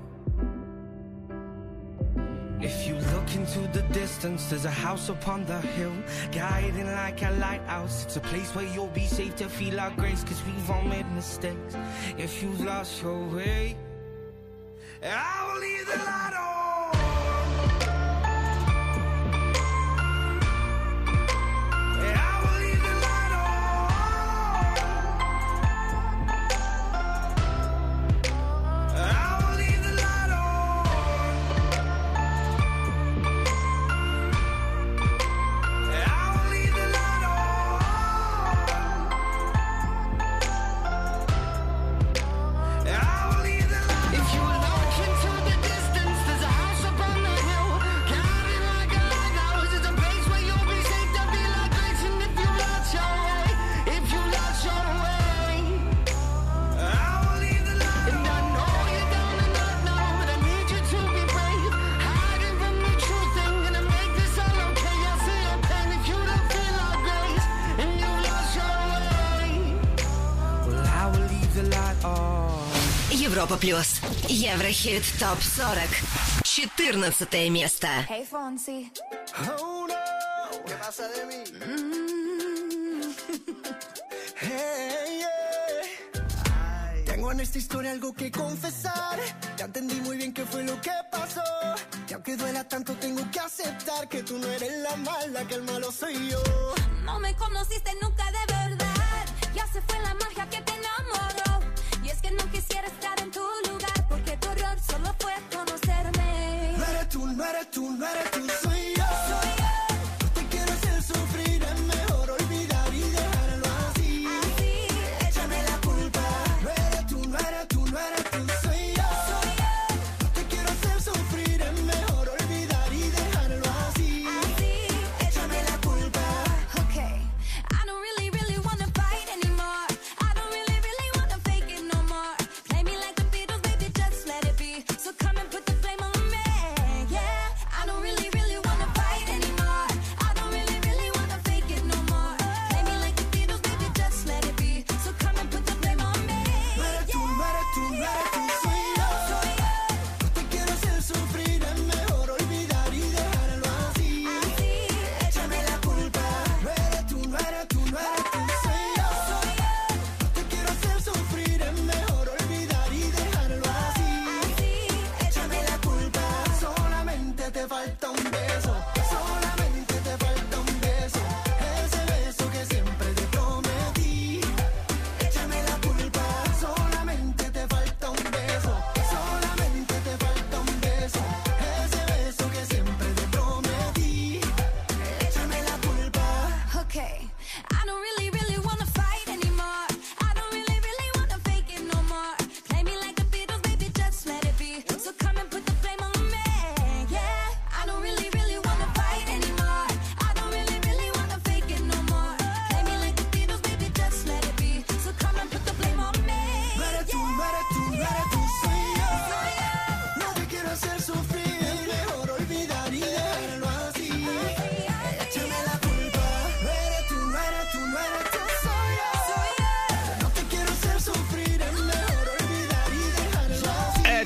If you look into the distance, there's a house upon the hill, guiding like a lighthouse. It's a place where you'll be safe to feel our grace, cause we've all made mistakes. If you've lost your way, I will leave the light on. Европа плюс. Еврохит ТОП-40. 14 место. Hey, Fonsi. Oh, no. ¿Qué pasa de mí? Hey, yeah. Tengo en esta historia algo que confesar. Ya entendí muy bien qué fue lo que pasó. Y aunque duela tanto, tengo que aceptar que tú no eres la mala, que el malo soy yo. No me conociste nunca de verdad. Ya se fue la magia que te enamoró. Y es que no quisiera estar en tu lugar, porque tu error solo fue conocerme. No eres tú, no eres tú, no eres tú, soy yo. Soy yo. No te quiero hacer sufrir, es mejor olvidar y dejarlo así. Así, échame la culpa. No eres tú, no eres tú, no eres tú, soy yo. soy yo. No te quiero hacer sufrir, es mejor olvidar y dejarlo así. Así, échame la culpa. Okay, I don't really, really wanna fight anymore. I don't really, really wanna fake it no more. Play me like the Beatles, baby, just let it be. So come and put the blame on me. Yeah, I don't really, really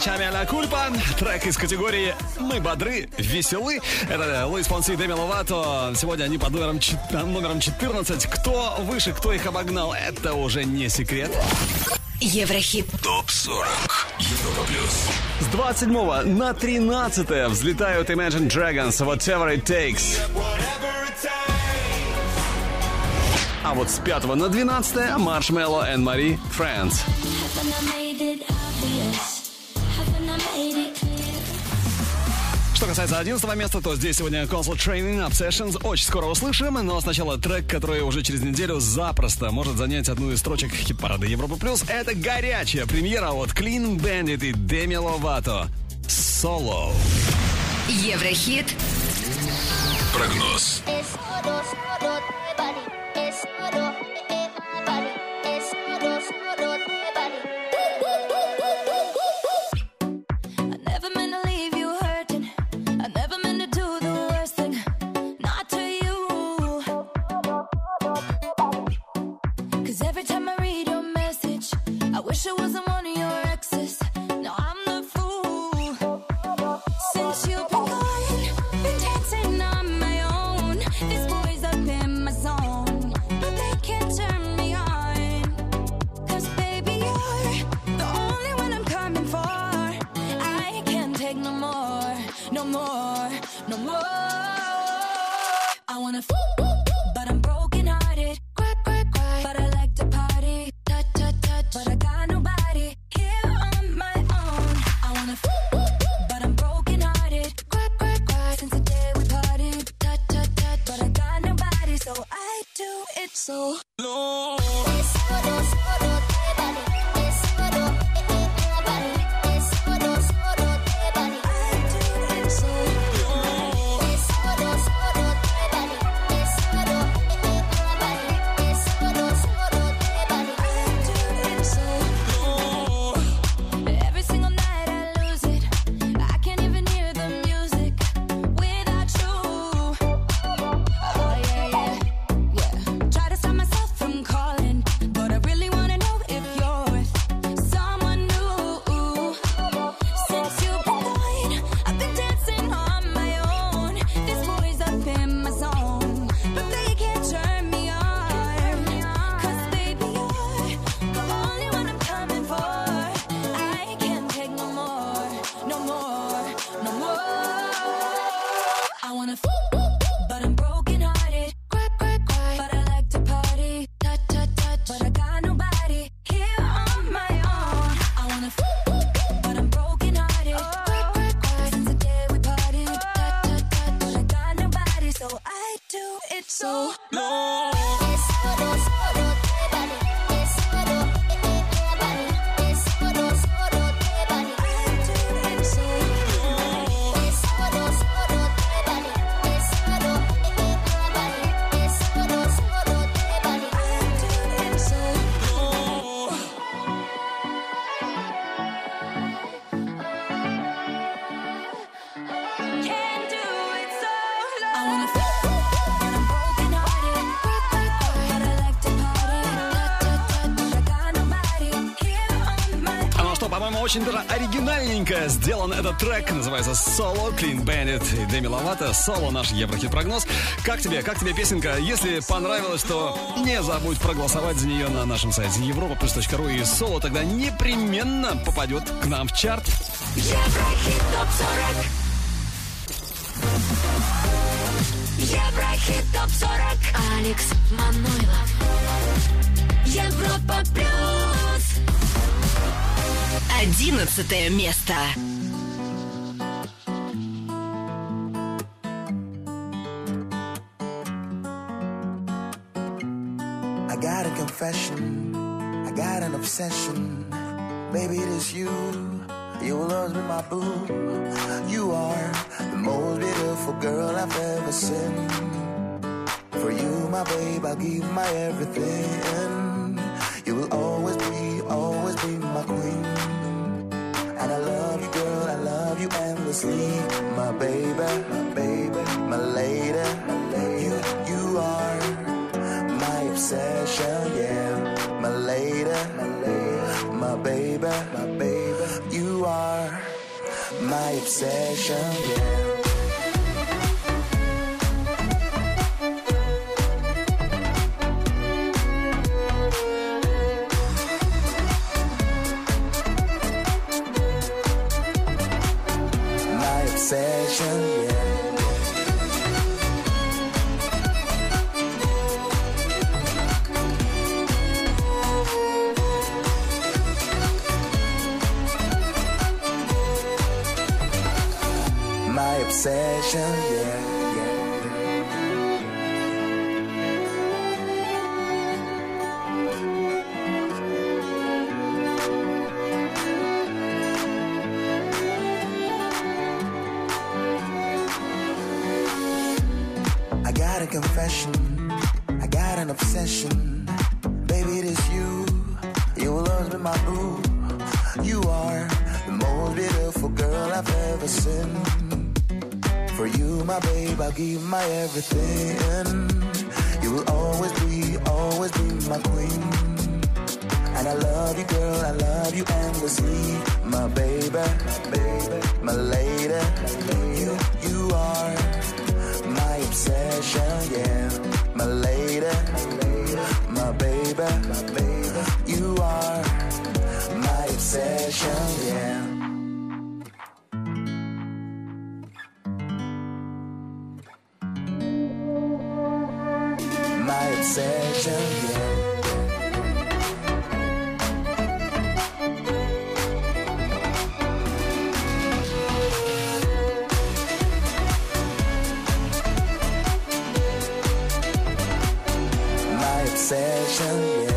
Эчами а-ля Кульпа. Трек из категории «Мы бодры, веселы». Это Луис Фонси и Деми Ловато. Сегодня они под номером 14. Кто выше, кто их обогнал, это уже не секрет. Еврохит. ТОП-40. Европа плюс. С 27 на 13 взлетают Imagine Dragons Whatever It Takes. А вот с 5 на 12 Marshmello and Marie Friends. Что касается 11 места, то здесь сегодня Console Training Obsessions. Очень скоро услышим, но сначала трек, который уже через неделю запросто может занять одну из строчек хит-парада Европа Плюс. Это горячая премьера от Clean Bandit и Demi Lovato. Solo. Еврохит. Прогноз. Очень даже оригинальненько сделан этот трек. Называется Solo, Clean Bandit и Demi Lovato. Solo, наш Еврохит-прогноз. Как тебе песенка? Если понравилось, то не забудь проголосовать за нее на нашем сайте europaplus.ru. И Solo тогда непременно попадет к нам в чарт. Еврохит ТОП-40. Еврохит ТОП-40. Алекс Манойлов. Европа Плюс. 11 место. I got a confession, I got an obsession. Baby, it is you, you will always be my boo. You are the most beautiful girl I've ever seen. For you, my babe, I'll give my everything. You will always be my queen. And I love you, girl, I love you endlessly. My baby, my lady. You are my obsession, yeah. My lady, my baby. You are obsession, yeah. My obsession, yeah. My obsession, yeah, I got a confession, I got an obsession. Baby, it is you, you will always be my boo. You are the most beautiful girl I've ever seen. For you, my babe, I'll give my everything. You will always be my queen. And I love you, girl, I love you endlessly. My baby, my lady. You are my obsession, yeah. My lady, my baby. You are my obsession, yeah. My obsession, yeah. My obsession, yeah.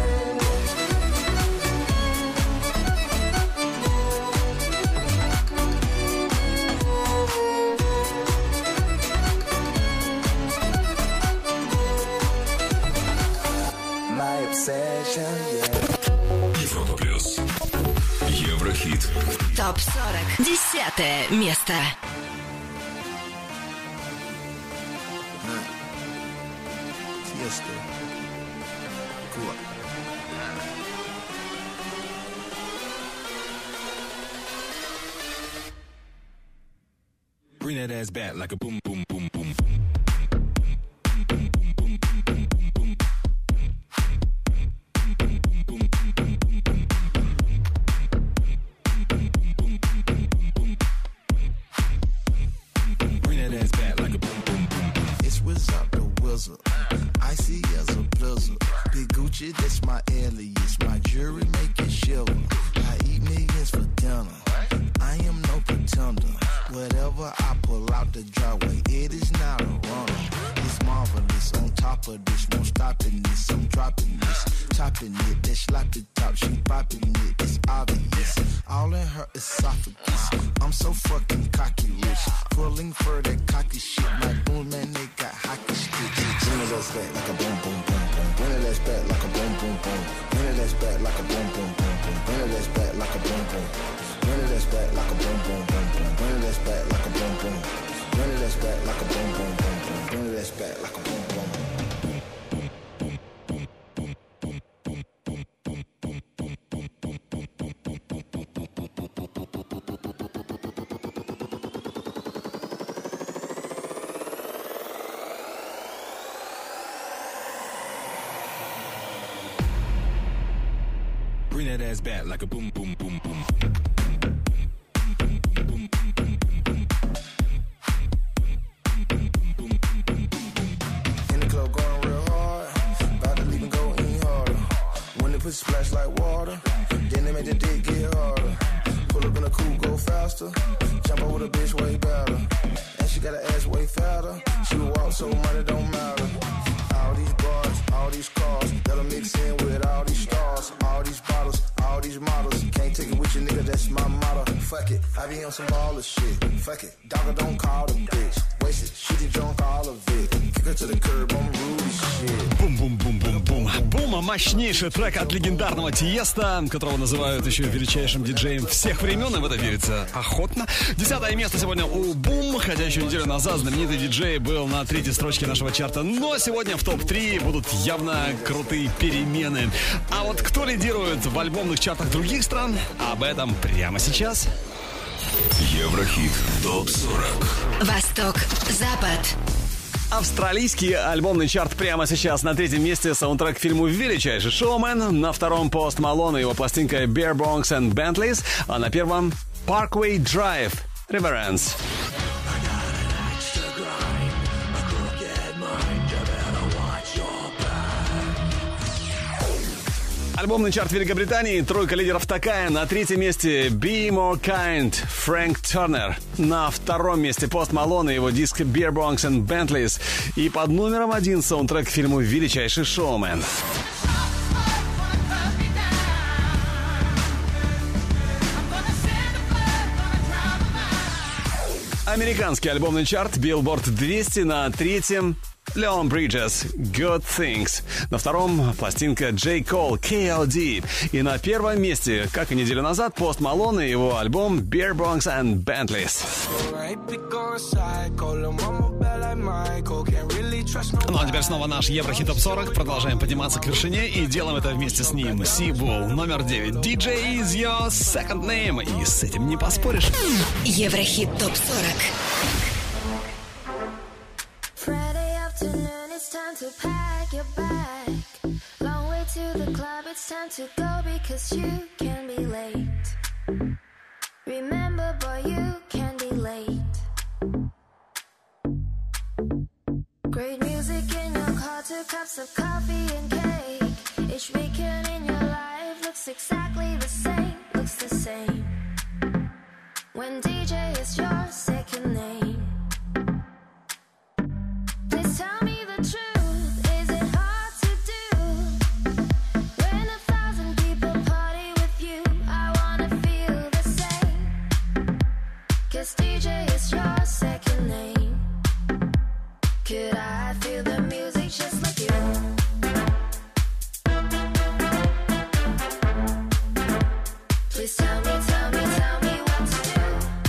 My obsession, yeah. Европа плюс. Еврохит. ТОП-40. 10 место. Fiesta. Cool. Bring that ass back like a boom, boom, boom, boom. It's Wizard the Wizard. Icy as a blizzard. Big Gucci, that's my alias. My jewelry make it shiver. I eat millions for dinner. I am no pretender. Whatever I pull out the driveway, it is not a runner. It's marvelous. On top of this, won't stop in this. I'm dropping this, topping it. That sloppy top, she popping it. It's obvious. All in her esophagus. I'm so fucking cocky rich. Pulling for that cocky shit. My boom man, they got hockey sticks. Bring it ass back like a boom, boom, boom, boom. Bring it ass back like a boom, boom, boom. Bring it ass back like a boom, boom, boom, boom. Bring it ass back like a boom, boom. Bring it ass back like a boom, boom, boom, boom. Bring it ass back like a boom, boom. Bring it ass back like a boom, boom, boom, boom. Bring it ass back like a boom, boom. Bring that ass back like a boom, boom, boom, boom. In the club going real hard. About to leave and go any harder. When they put splash like water, then they make the dick get harder. Pull up in a coupe, go faster. Jump over the bitch way better. And she got her ass way fatter. She will walk so money don't matter. All these bars, all these cars, that'll mix in with all these stars. All these bottles, all these models. Can't take it with you, nigga, that's my motto. Fuck it, I be on some baller shit. Fuck it, dogger don't call the bitch. Waste it, she did drunk all of it. Kick her to the curb, I'm rude shit. Бум-бум-бум-бум-бум. Бум, мощнейший трек от легендарного Тиеста, которого называют еще величайшим диджеем всех времен, и в это верится охотно. 10 место сегодня у Бум, хотя еще неделю назад знаменитый диджей был на 3-й строчке нашего чарта, но сегодня в топ-3 будут явно крутые перемены. А вот кто лидирует в альбомных чартах других стран, об этом прямо сейчас. Еврохит ТОП-40. Восток, Запад. Австралийский альбомный чарт прямо сейчас. На третьем месте саундтрек к фильму «Величайший шоумен». На втором Пост Малон и его пластинка «Beer Bongs and Bentleys». А на первом «Parkway Drive» «Reverence». Альбомный чарт Великобритании. Тройка лидеров такая. На третьем месте «Be More Kind» Фрэнк Тернер. На втором месте Пост Малон и его диск «Beer Bongs and Bentleys». И под номером 1 саундтрек к фильму «Величайший шоумен». Американский альбомный чарт Billboard 200 на третьем Leon Bridges Good Things. На втором пластинка J. Cole KLD. И на первом месте, как и неделю назад, Пост Малон и его альбом Beer Bongs and Bentleys. Ну а теперь снова наш Еврохит ТОП-40. Продолжаем подниматься к вершине и делаем это вместе с ним. Seabull, номер 9. DJ is your second name. И с этим не поспоришь. Еврохит ТОП-40. It's time to pack your bag. Long way to the club, it's time to go because you can be late. Remember, boy, you can be late. Great music in your car, 2 cups of coffee and cake. Each weekend in your life looks exactly the same, looks the same. When DJ is your second name. Please tell me the truth, is it hard to do? When 1,000 people party with you, I wanna feel the same. 'Cause DJ is your second name. Could I feel the music just like you? Please tell me, tell me, tell me what to do.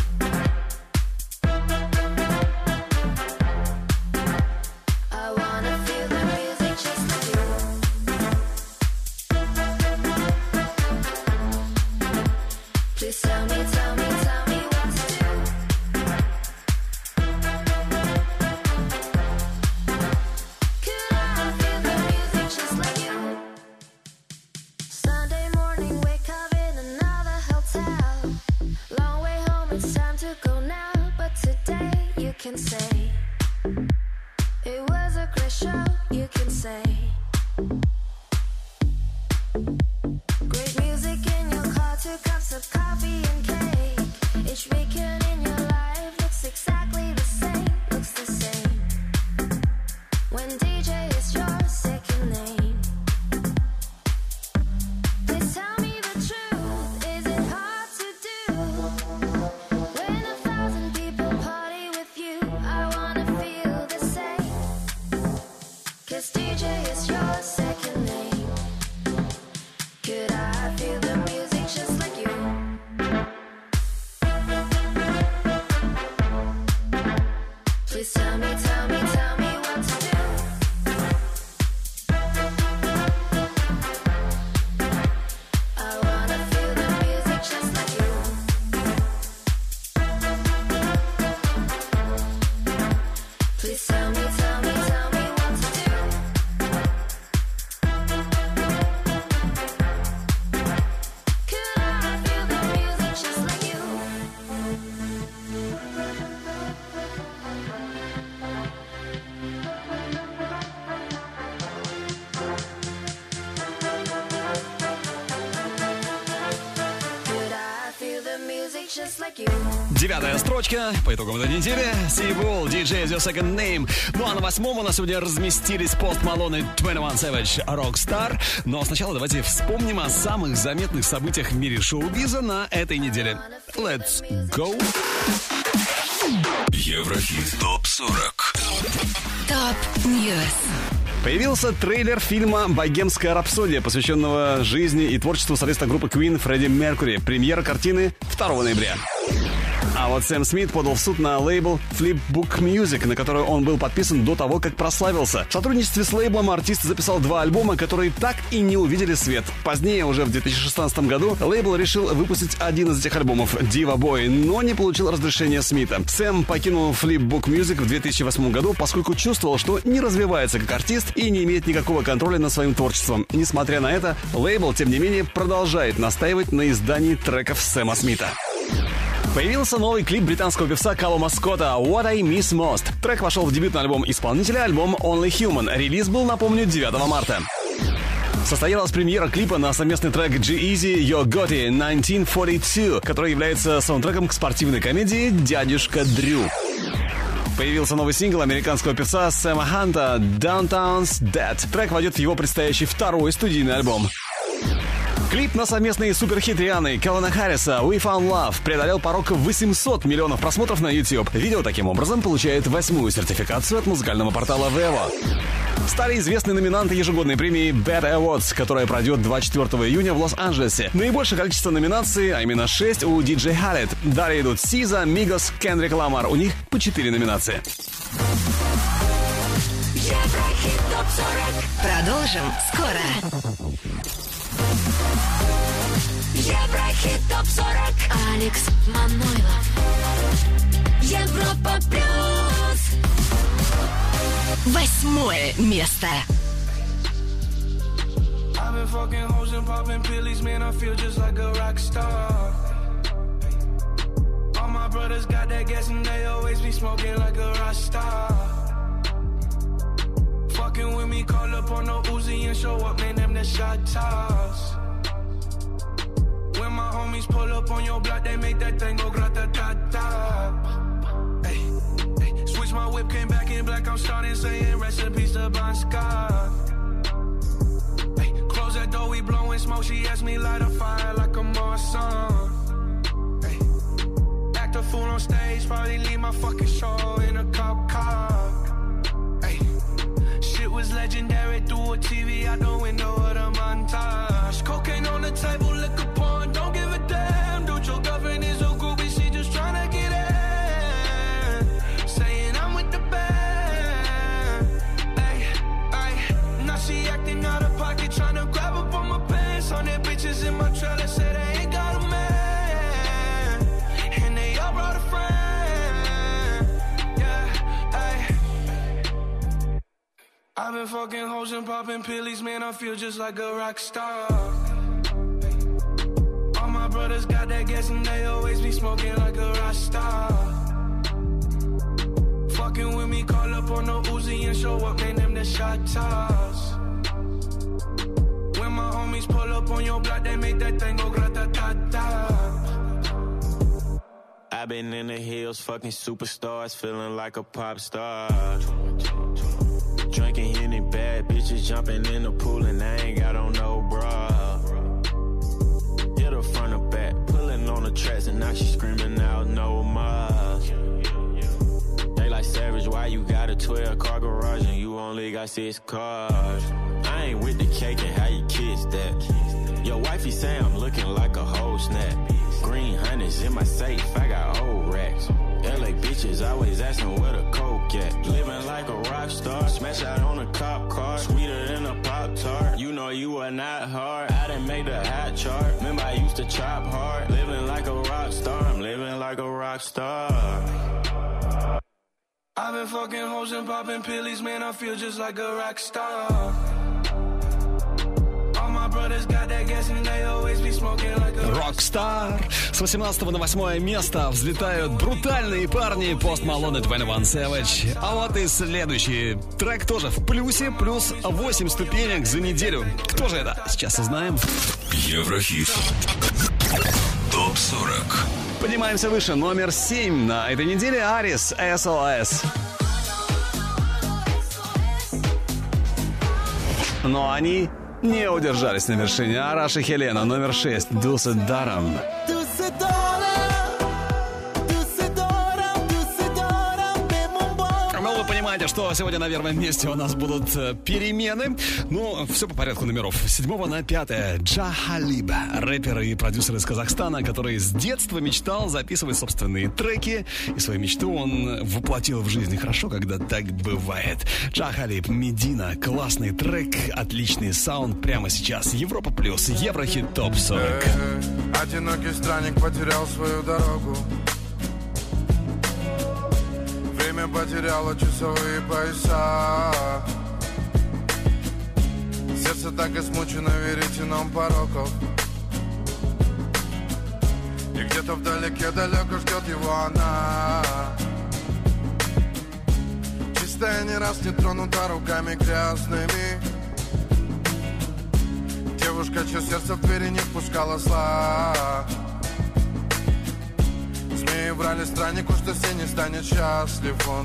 I wanna feel the music just like you. Please tell me, tell me, tell me what to do. Could I feel the music just like you? Sunday morning, wake up in another hotel. Long way home, it's time to go now. But today you can say it was a great show, you can say. Great music in your car, 2 cups of coffee and cake. Each weekend in your life looks exactly the same, looks the same. When DJ is your second name. Please tell me the truth, is it hard to do? When 1,000 people party with you, I wanna feel the same. 'Cause DJ is your second name. Could I feel the music just like you? Please tell me, tell me, tell me what to do. I wanna feel the music just like you. Please tell me, tell me, tell me what to do. Could I feel the music just like you? Could I feel the music just like you? 9-я строчка по итогам этой недели. Seabull, DJ is your second name. Ну а на 8-м у нас сегодня разместились Пост Малон и 21 Savage Rockstar. Но сначала давайте вспомним о самых заметных событиях в мире шоу-биза на этой неделе. Let's go! Еврохит ТОП-40. Топ-ньюс. Появился трейлер фильма «Богемская рапсодия», посвященного жизни и творчеству солиста группы Queen Фредди Меркьюри. Премьера картины 2 ноября. А вот Сэм Смит подал в суд на лейбл Flipbook Music, на который он был подписан до того, как прославился. В сотрудничестве с лейблом артист записал 2 альбома, которые так и не увидели свет. Позднее, уже в 2016 году, лейбл решил выпустить один из этих альбомов «Diva Boy», но не получил разрешения Смита. Сэм покинул Flipbook Music в 2008 году, поскольку чувствовал, что не развивается как артист и не имеет никакого контроля над своим творчеством. Несмотря на это, лейбл, тем не менее, продолжает настаивать на издании треков Сэма Смита. Появился новый клип британского певца Калума Скотта «What I Miss Most». Трек вошел в дебютный альбом исполнителя, альбом Only Human. Релиз был, напомню, 9 марта. Состоялась премьера клипа на совместный трек G-Eazy Yo Gotti 1942, который является саундтреком к спортивной комедии «Дядюшка Дрю». Появился новый сингл американского певца Сэма Ханта «Downtown's Dead». Трек войдет в его предстоящий 2-й студийный альбом. Клип на совместный суперхит Рианны и Кэлвина Харриса «We Found Love» преодолел порог 800 миллионов просмотров на YouTube. Видео таким образом получает 8-ю сертификацию от музыкального портала Vevo. Стали известны номинанты ежегодной премии Bad Awards, которая пройдет 24 июня в Лос-Анджелесе. Наибольшее количество номинаций, а именно 6, у DJ Khaled. Далее идут SZA, Migos, Kendrick Lamar. У них по 4 номинации. Еврохит ТОП-40. Продолжим скоро. Еврохит ТОП-40. Алекс Манойлов. Европа плюс. 8-е место. I've been fucking hoes and popping pillies, man, I feel just like a rock star. All my brothers got that gas and they always be smoking like a rock star. Fucking with me, call up on the Uzi and show up, man, them the shot toss. When my homies pull up on your block, they make that thing go grata-ta-ta. Hey, hey, switch my whip, came back in black, I'm starting saying recipes to Bon Scott. Hey, close that door, we blowing smoke, she asked me light a fire like a Marsan. Hey, act a fool on stage, probably leave my fucking show in a cop car. Hey, shit was legendary, through a TV out the window of the montage. Cocaine on the table, liquor porn, don't give a damn. Dude, your girlfriend is a groupie, she just tryna get in. Saying I'm with the band. Ay, ay, now she acting out of pocket, tryna grab up on my pants. On their bitches in my trailer, say they ain't got a man. And they all brought a friend. Yeah, ay. I've been fucking hoes and popping pillies, man, I feel just like a rock star. All my brothers got that gas and they always be smoking like a rock star. Fucking with me, call up on the Uzi and show up, man, them the shot toss. When my homies pull up on your block, they make that thing go grata-ta-ta. I've been in the hills, fucking superstars, feeling like a pop star. Drinking Henny, bad bitches jumping in the pool and I ain't got on no bra. Hit her front or back, pulling on the tracks and now she screaming out no more. They like Savage, why you got a 12-car garage and you only got 6 cars? I ain't with the cake and how you kiss that. Your wifey say I'm looking like a whole snap. Green honey's in my safe, I got old racks. LA bitches always asking where the coke at. Living like a rock star, smash out on a cop car, sweeter than a Pop-Tart. You know you are not hard, I done made the hot chart. Remember I used to chop hard, living like a rock star, I'm living like a rock star. I've been fucking hoes and popping pillies, man, I feel just like a rock star. Rockstar. С 18 на 8 место взлетают брутальные парни Post Malone и 21 Savage. А вот и следующий трек тоже в плюсе, плюс 8 ступенек за неделю. Кто же это? Сейчас узнаем. Еврохит. ТОП-40. Поднимаемся выше. Номер 7 на этой неделе. Арис, SOS. Но они не удержались на вершине. Араш и Хелена, номер 6. Дусе Даром. знаете, что сегодня на первом месте у нас будут перемены. Ну, все по порядку номеров. С 7 на 5 Джа Халиб, рэпер и продюсер из Казахстана, который с детства мечтал записывать собственные треки. И свою мечту он воплотил в жизнь. Хорошо, когда так бывает. Джа Халиб, Медина. Классный трек, отличный саунд. Прямо сейчас Европа Плюс, Еврохит ТОП 40. Одинокий странник потерял свою дорогу. Время потеряло часовые пояса. Сердце так измучено веретеном пороков. И где-то вдалеке далеко ждет его она. Чистая, не раз не тронута руками грязными. Девушка, чье сердце в двери не впускала зла. Змеи врали страннику, что все не станет счастлив он.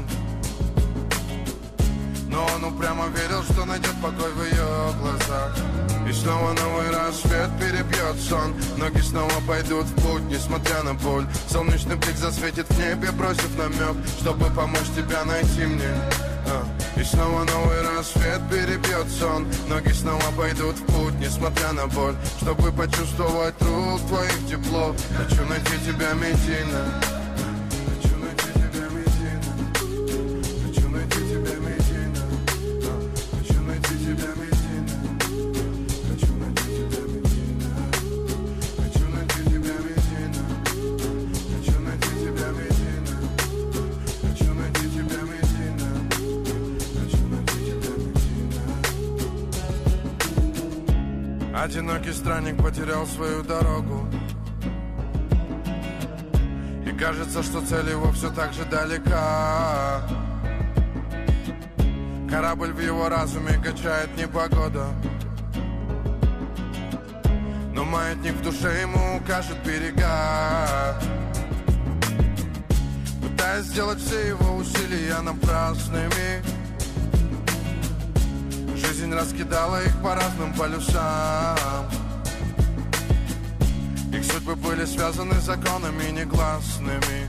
Но он упрямо верил, что найдет покой в ее глазах. И снова новый рассвет перебьет сон. Ноги снова пойдут в путь, несмотря на боль. Солнечный блик засветит в небе, бросив намек, чтобы помочь тебя найти мне. И снова новый рассвет перебьет сон. Ноги снова пойдут в путь, несмотря на боль, чтобы почувствовать рук твоих тепло. Хочу найти тебя, Медина. Хочу найти тебя, Медина. Хочу найти тебя, Медина. Хочу найти тебя, Медина. Хочу найти тебя, Медина. Хочу найти тебя, Медина. Хочу найти тебя, Медина. Хочу найти тебя, Медина. Одинокий странник потерял свою дорогу. И кажется, что цель его все так же далека. Корабль в его разуме качает непогода. Но маятник в душе ему укажет берега. Пытаясь сделать все его усилия напрасными, жизнь раскидала их по разным полюсам. Их судьбы были связаны законами негласными.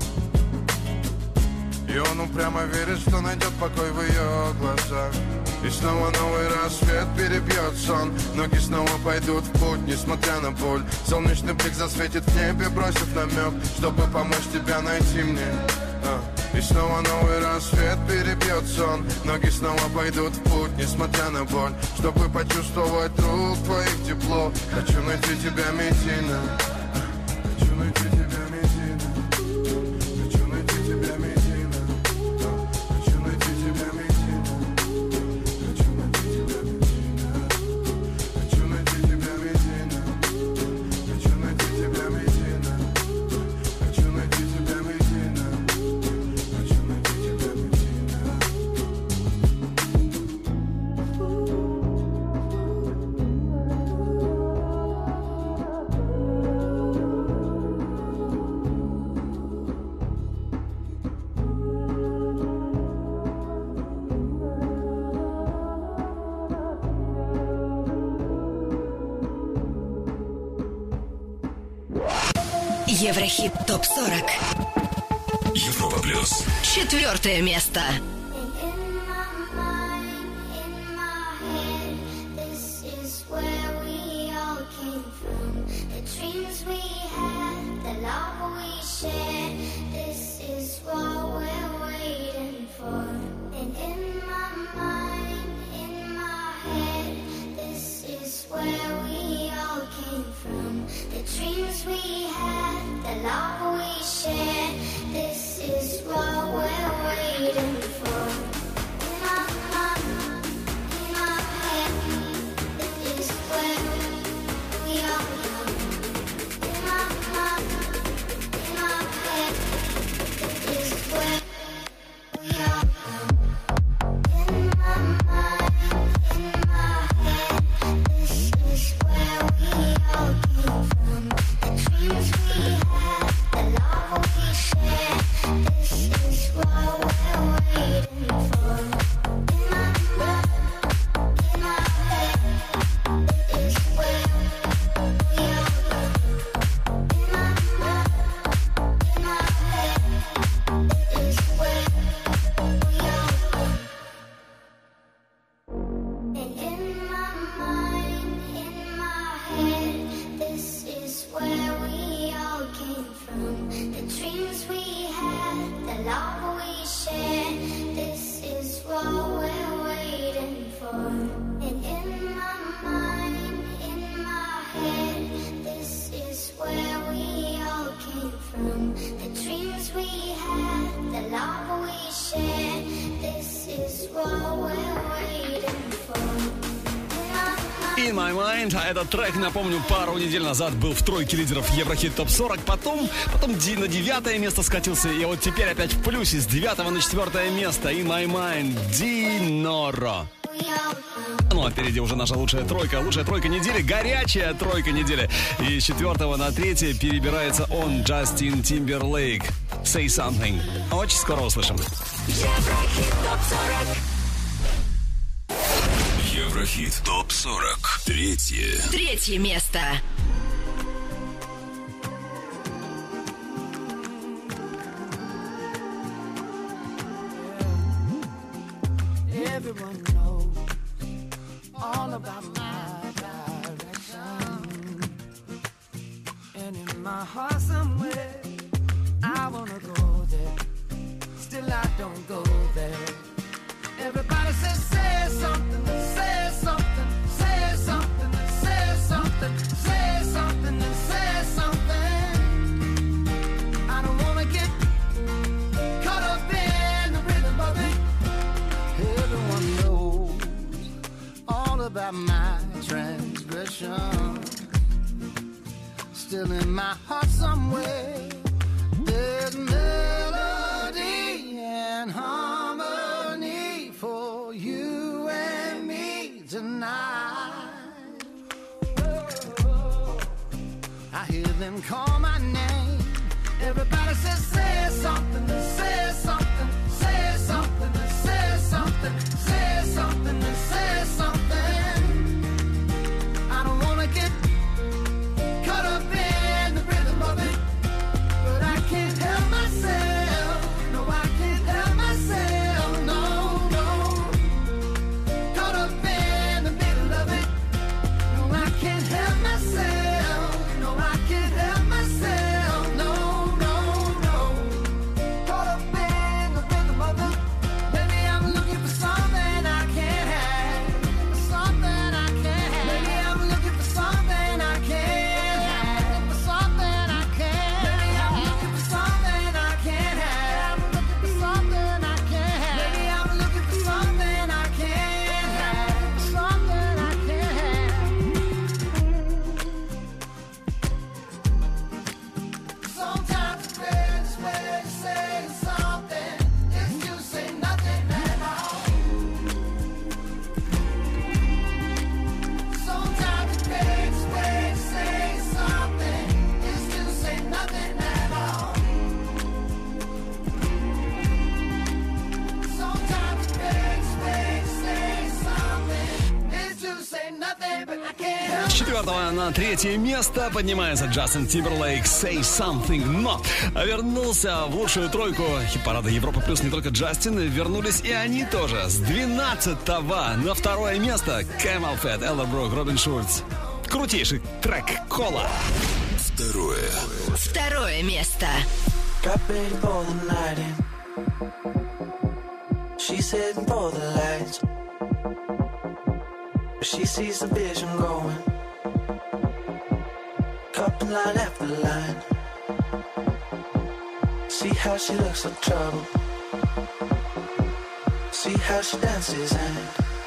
И он упрямо верит, что найдет покой в ее глазах. И снова новый рассвет перебьет сон. Ноги снова пойдут в путь, несмотря на боль. Солнечный блик засветит в небе, бросив намек, чтобы помочь тебя найти мне. И снова новый рассвет перебьет сон. Ноги снова пойдут в путь, несмотря на боль, чтобы почувствовать рук твоих тепло. Хочу найти тебя, Медина. Хочу найти тебя, Медина. Хочу найти тебя, Медина. Хочу найти тебя, Медина. Хочу найти тебя, Медина. Хочу найти тебя, Медина. Хочу найти тебя, Медина. Хочу найти тебя, Медина. Еврохит ТОП-40. Европа Плюс. 4 место. for. And in my mind, in my head, this is where we all came from. The dreams we had, the love we shared, this is what we're waiting for. In My Mind. А этот трек, напомню, пару недель назад был в тройке лидеров Еврохит ТОП 40. Потом на 9 место скатился. И вот теперь опять в плюсе с 9 на 4 место. In My Mind. Диноро. Ну, а впереди уже наша лучшая тройка недели, горячая тройка недели. И с 4 на 3 перебирается он, Джастин Тимберлейк. Say Something. Очень скоро услышим. Еврохит ТОП 40. Еврохит ТОП-40. Третье место. Everyone knows all about my direction. And in my heart somewhere, I wanna go there. Still I don't go there. Everybody says, say something, say something, say something, say something, say something, say something. I don't wanna get caught up in the rhythm of it. Everyone knows all about my transgression. Still in my heart somewhere, there's melody and harmony for you and me tonight. I hear them call my name. Everybody says, say something, say something, say something, say something, say something, say something. I don't wanna get caught up in the rhythm of it, but I can't help myself. No, I can't help myself. No, no. Caught up in the middle of it. No, I can't help myself. No, I can't help myself. No, no, no. Caught up in the rhythm of it. Maybe I'm looking for something I can't have. Something I can't have. Maybe I'm looking for something I can't have. For something I can't. Maybe I'm looking for something I can't have. For something I can't have. Maybe I'm looking for something I can't have. For something I can't have. Sometimes the greatest way to say something is to say nothing at all. Sometimes the greatest way to say something is to say nothing at all. Sometimes the greatest way to say something is to say nothing, but I can't help. С 4 на 3 место поднимается Джастин Тимберлейк Say Something. Но вернулся в лучшую тройку хит-парада Европа Плюс не только Джастин, вернулись и они тоже. С 12 на 2 место Camel Fat, Элла Брук, Робин Шульц. Крутейший трек Кола. Второе место. Got ready for the night in. She's heading for the lights. But she sees the vision going. Couple line after line. See how she looks like trouble. See how she dances and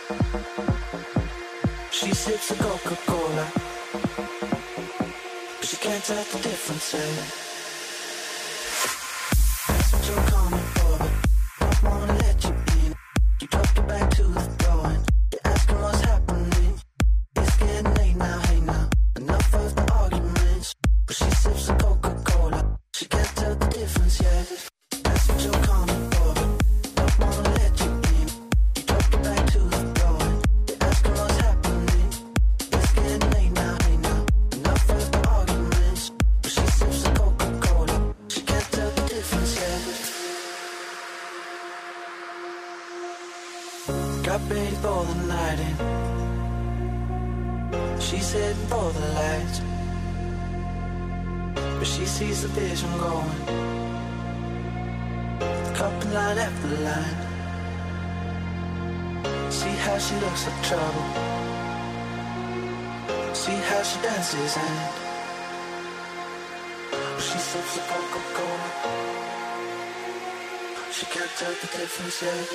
she sips a Coca-Cola. But she can't tell the difference. That's what you're coming for, but don't wanna let you in. You drop your back to the door and you're asking what's happening. It's getting late now, hey now. Enough of the arguments. But she sips a Coca-Cola. She can't tell the difference yet. That's what you're coming for, but don't wanna let you in. You drop your back to the door and you're asking what's happening. It's getting late now, hey now. Enough of the arguments. But she sips a Coca-Cola. She can't tell the difference yet. Got ready for the night in. She's heading for the lights. But she sees the vision going. Couple line after line. See how she looks like trouble. See how she dances and she sips a Coca-Cola. She can't tell the difference yet.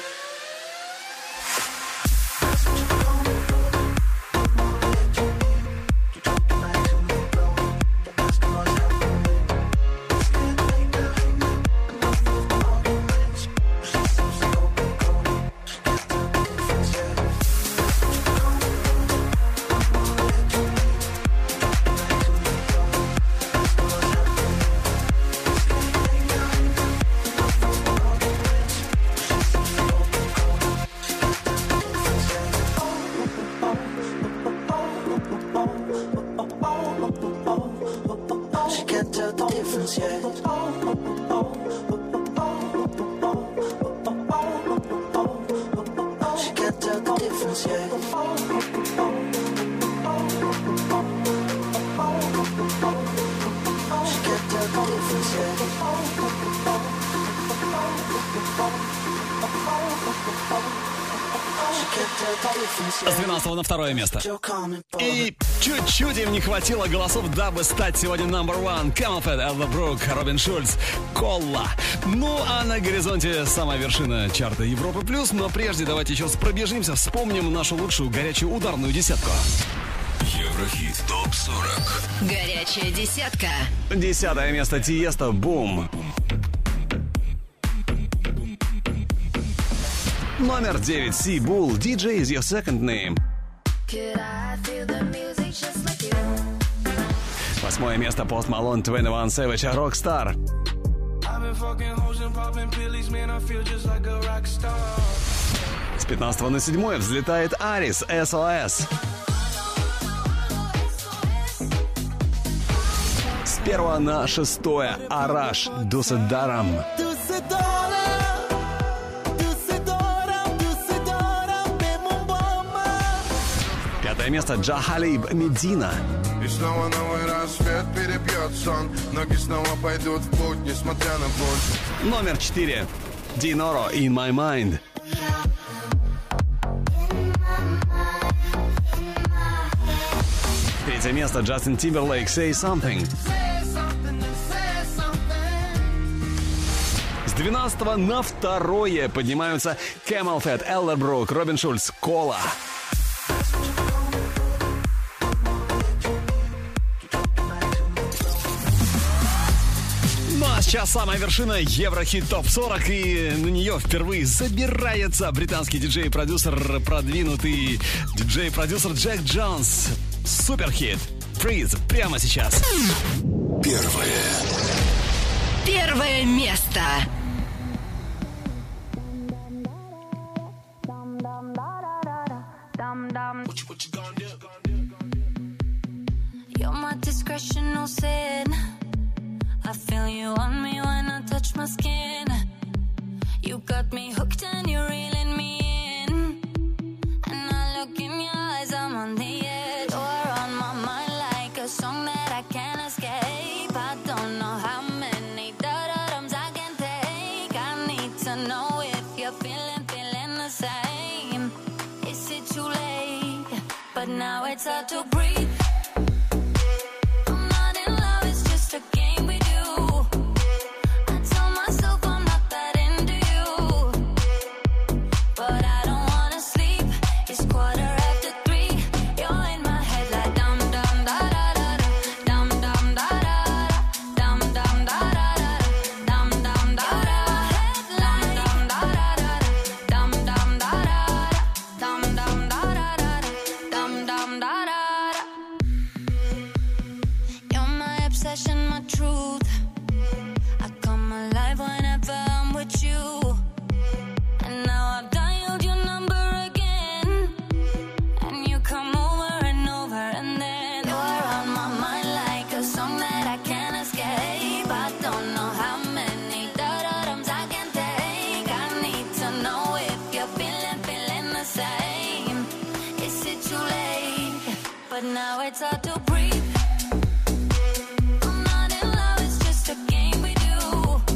She can't tell the difference yet. She can't tell the difference yet. She can't tell the difference yet. С 12 на второе место. И чуть-чуть им не хватило голосов, дабы стать сегодня number one. Camelfed, Элла Брук, Робин Шульц, Колла. Ну, а на горизонте самая вершина чарта Европы плюс. Но прежде давайте еще раз пробежимся, вспомним нашу лучшую горячую ударную десятку. Еврохит ТОП-40. Горячая десятка. 10 место Тиесто, Бум. Номер 9 Си Булл, DJ is your second name. 8 место Пост Малон, 21 Savage, Rockstar. С 15 на 7 взлетает Арис, SOS. С 1 на 6 Араш, Дуседарам. Пятое место Джа Халиб, Медина. И снова новый рассвет перебьет сон. Ноги снова пойдут в путь, несмотря на боль. Номер 4 Диноро, In My Mind. Третье место Джастин Тимберлейк, Say Something. С 12 на 2 поднимаются Camelfed, Элла Брук, Робин Шульц, Кола. Ну а сейчас самая вершина Еврохит ТОП-40, и на нее впервые забирается британский диджей-продюсер, продвинутый диджей-продюсер Джек Джонс. Суперхит Freeze прямо сейчас. Первое место. You're my discretional sin. I feel you on me when I touch my skin. You got me hooked and you're reeling me in. And I look in your eyes, I'm on the edge. You're on my mind like a song that I can't escape. I don't know how many da-da-dums I can take. I need to know if you're feeling the same. Is it too late? But now it's hard to breathe.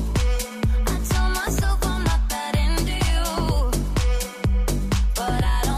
But I don't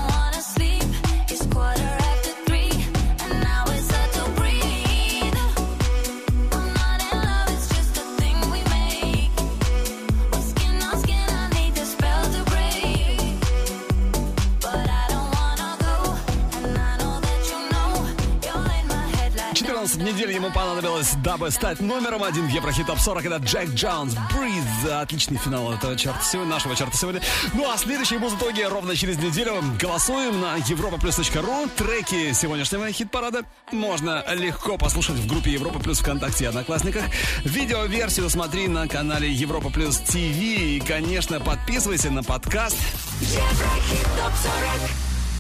Джонс. Неделю ему понадобилось, дабы стать номером 1 в Еврохит Топ 40. Это Джек Джонс, Breathe. Отличный финал этого чарта сегодня, нашего чарта сегодня. Ну а следующие музытоги ровно через неделю. Голосуем на europaplus.ru. Треки сегодняшнего хит-парада можно легко послушать в группе Европа Плюс ВКонтакте и Одноклассниках. Видеоверсию смотри на канале Европа Плюс ТВ. И, конечно, подписывайся на подкаст Еврохит Топ 40.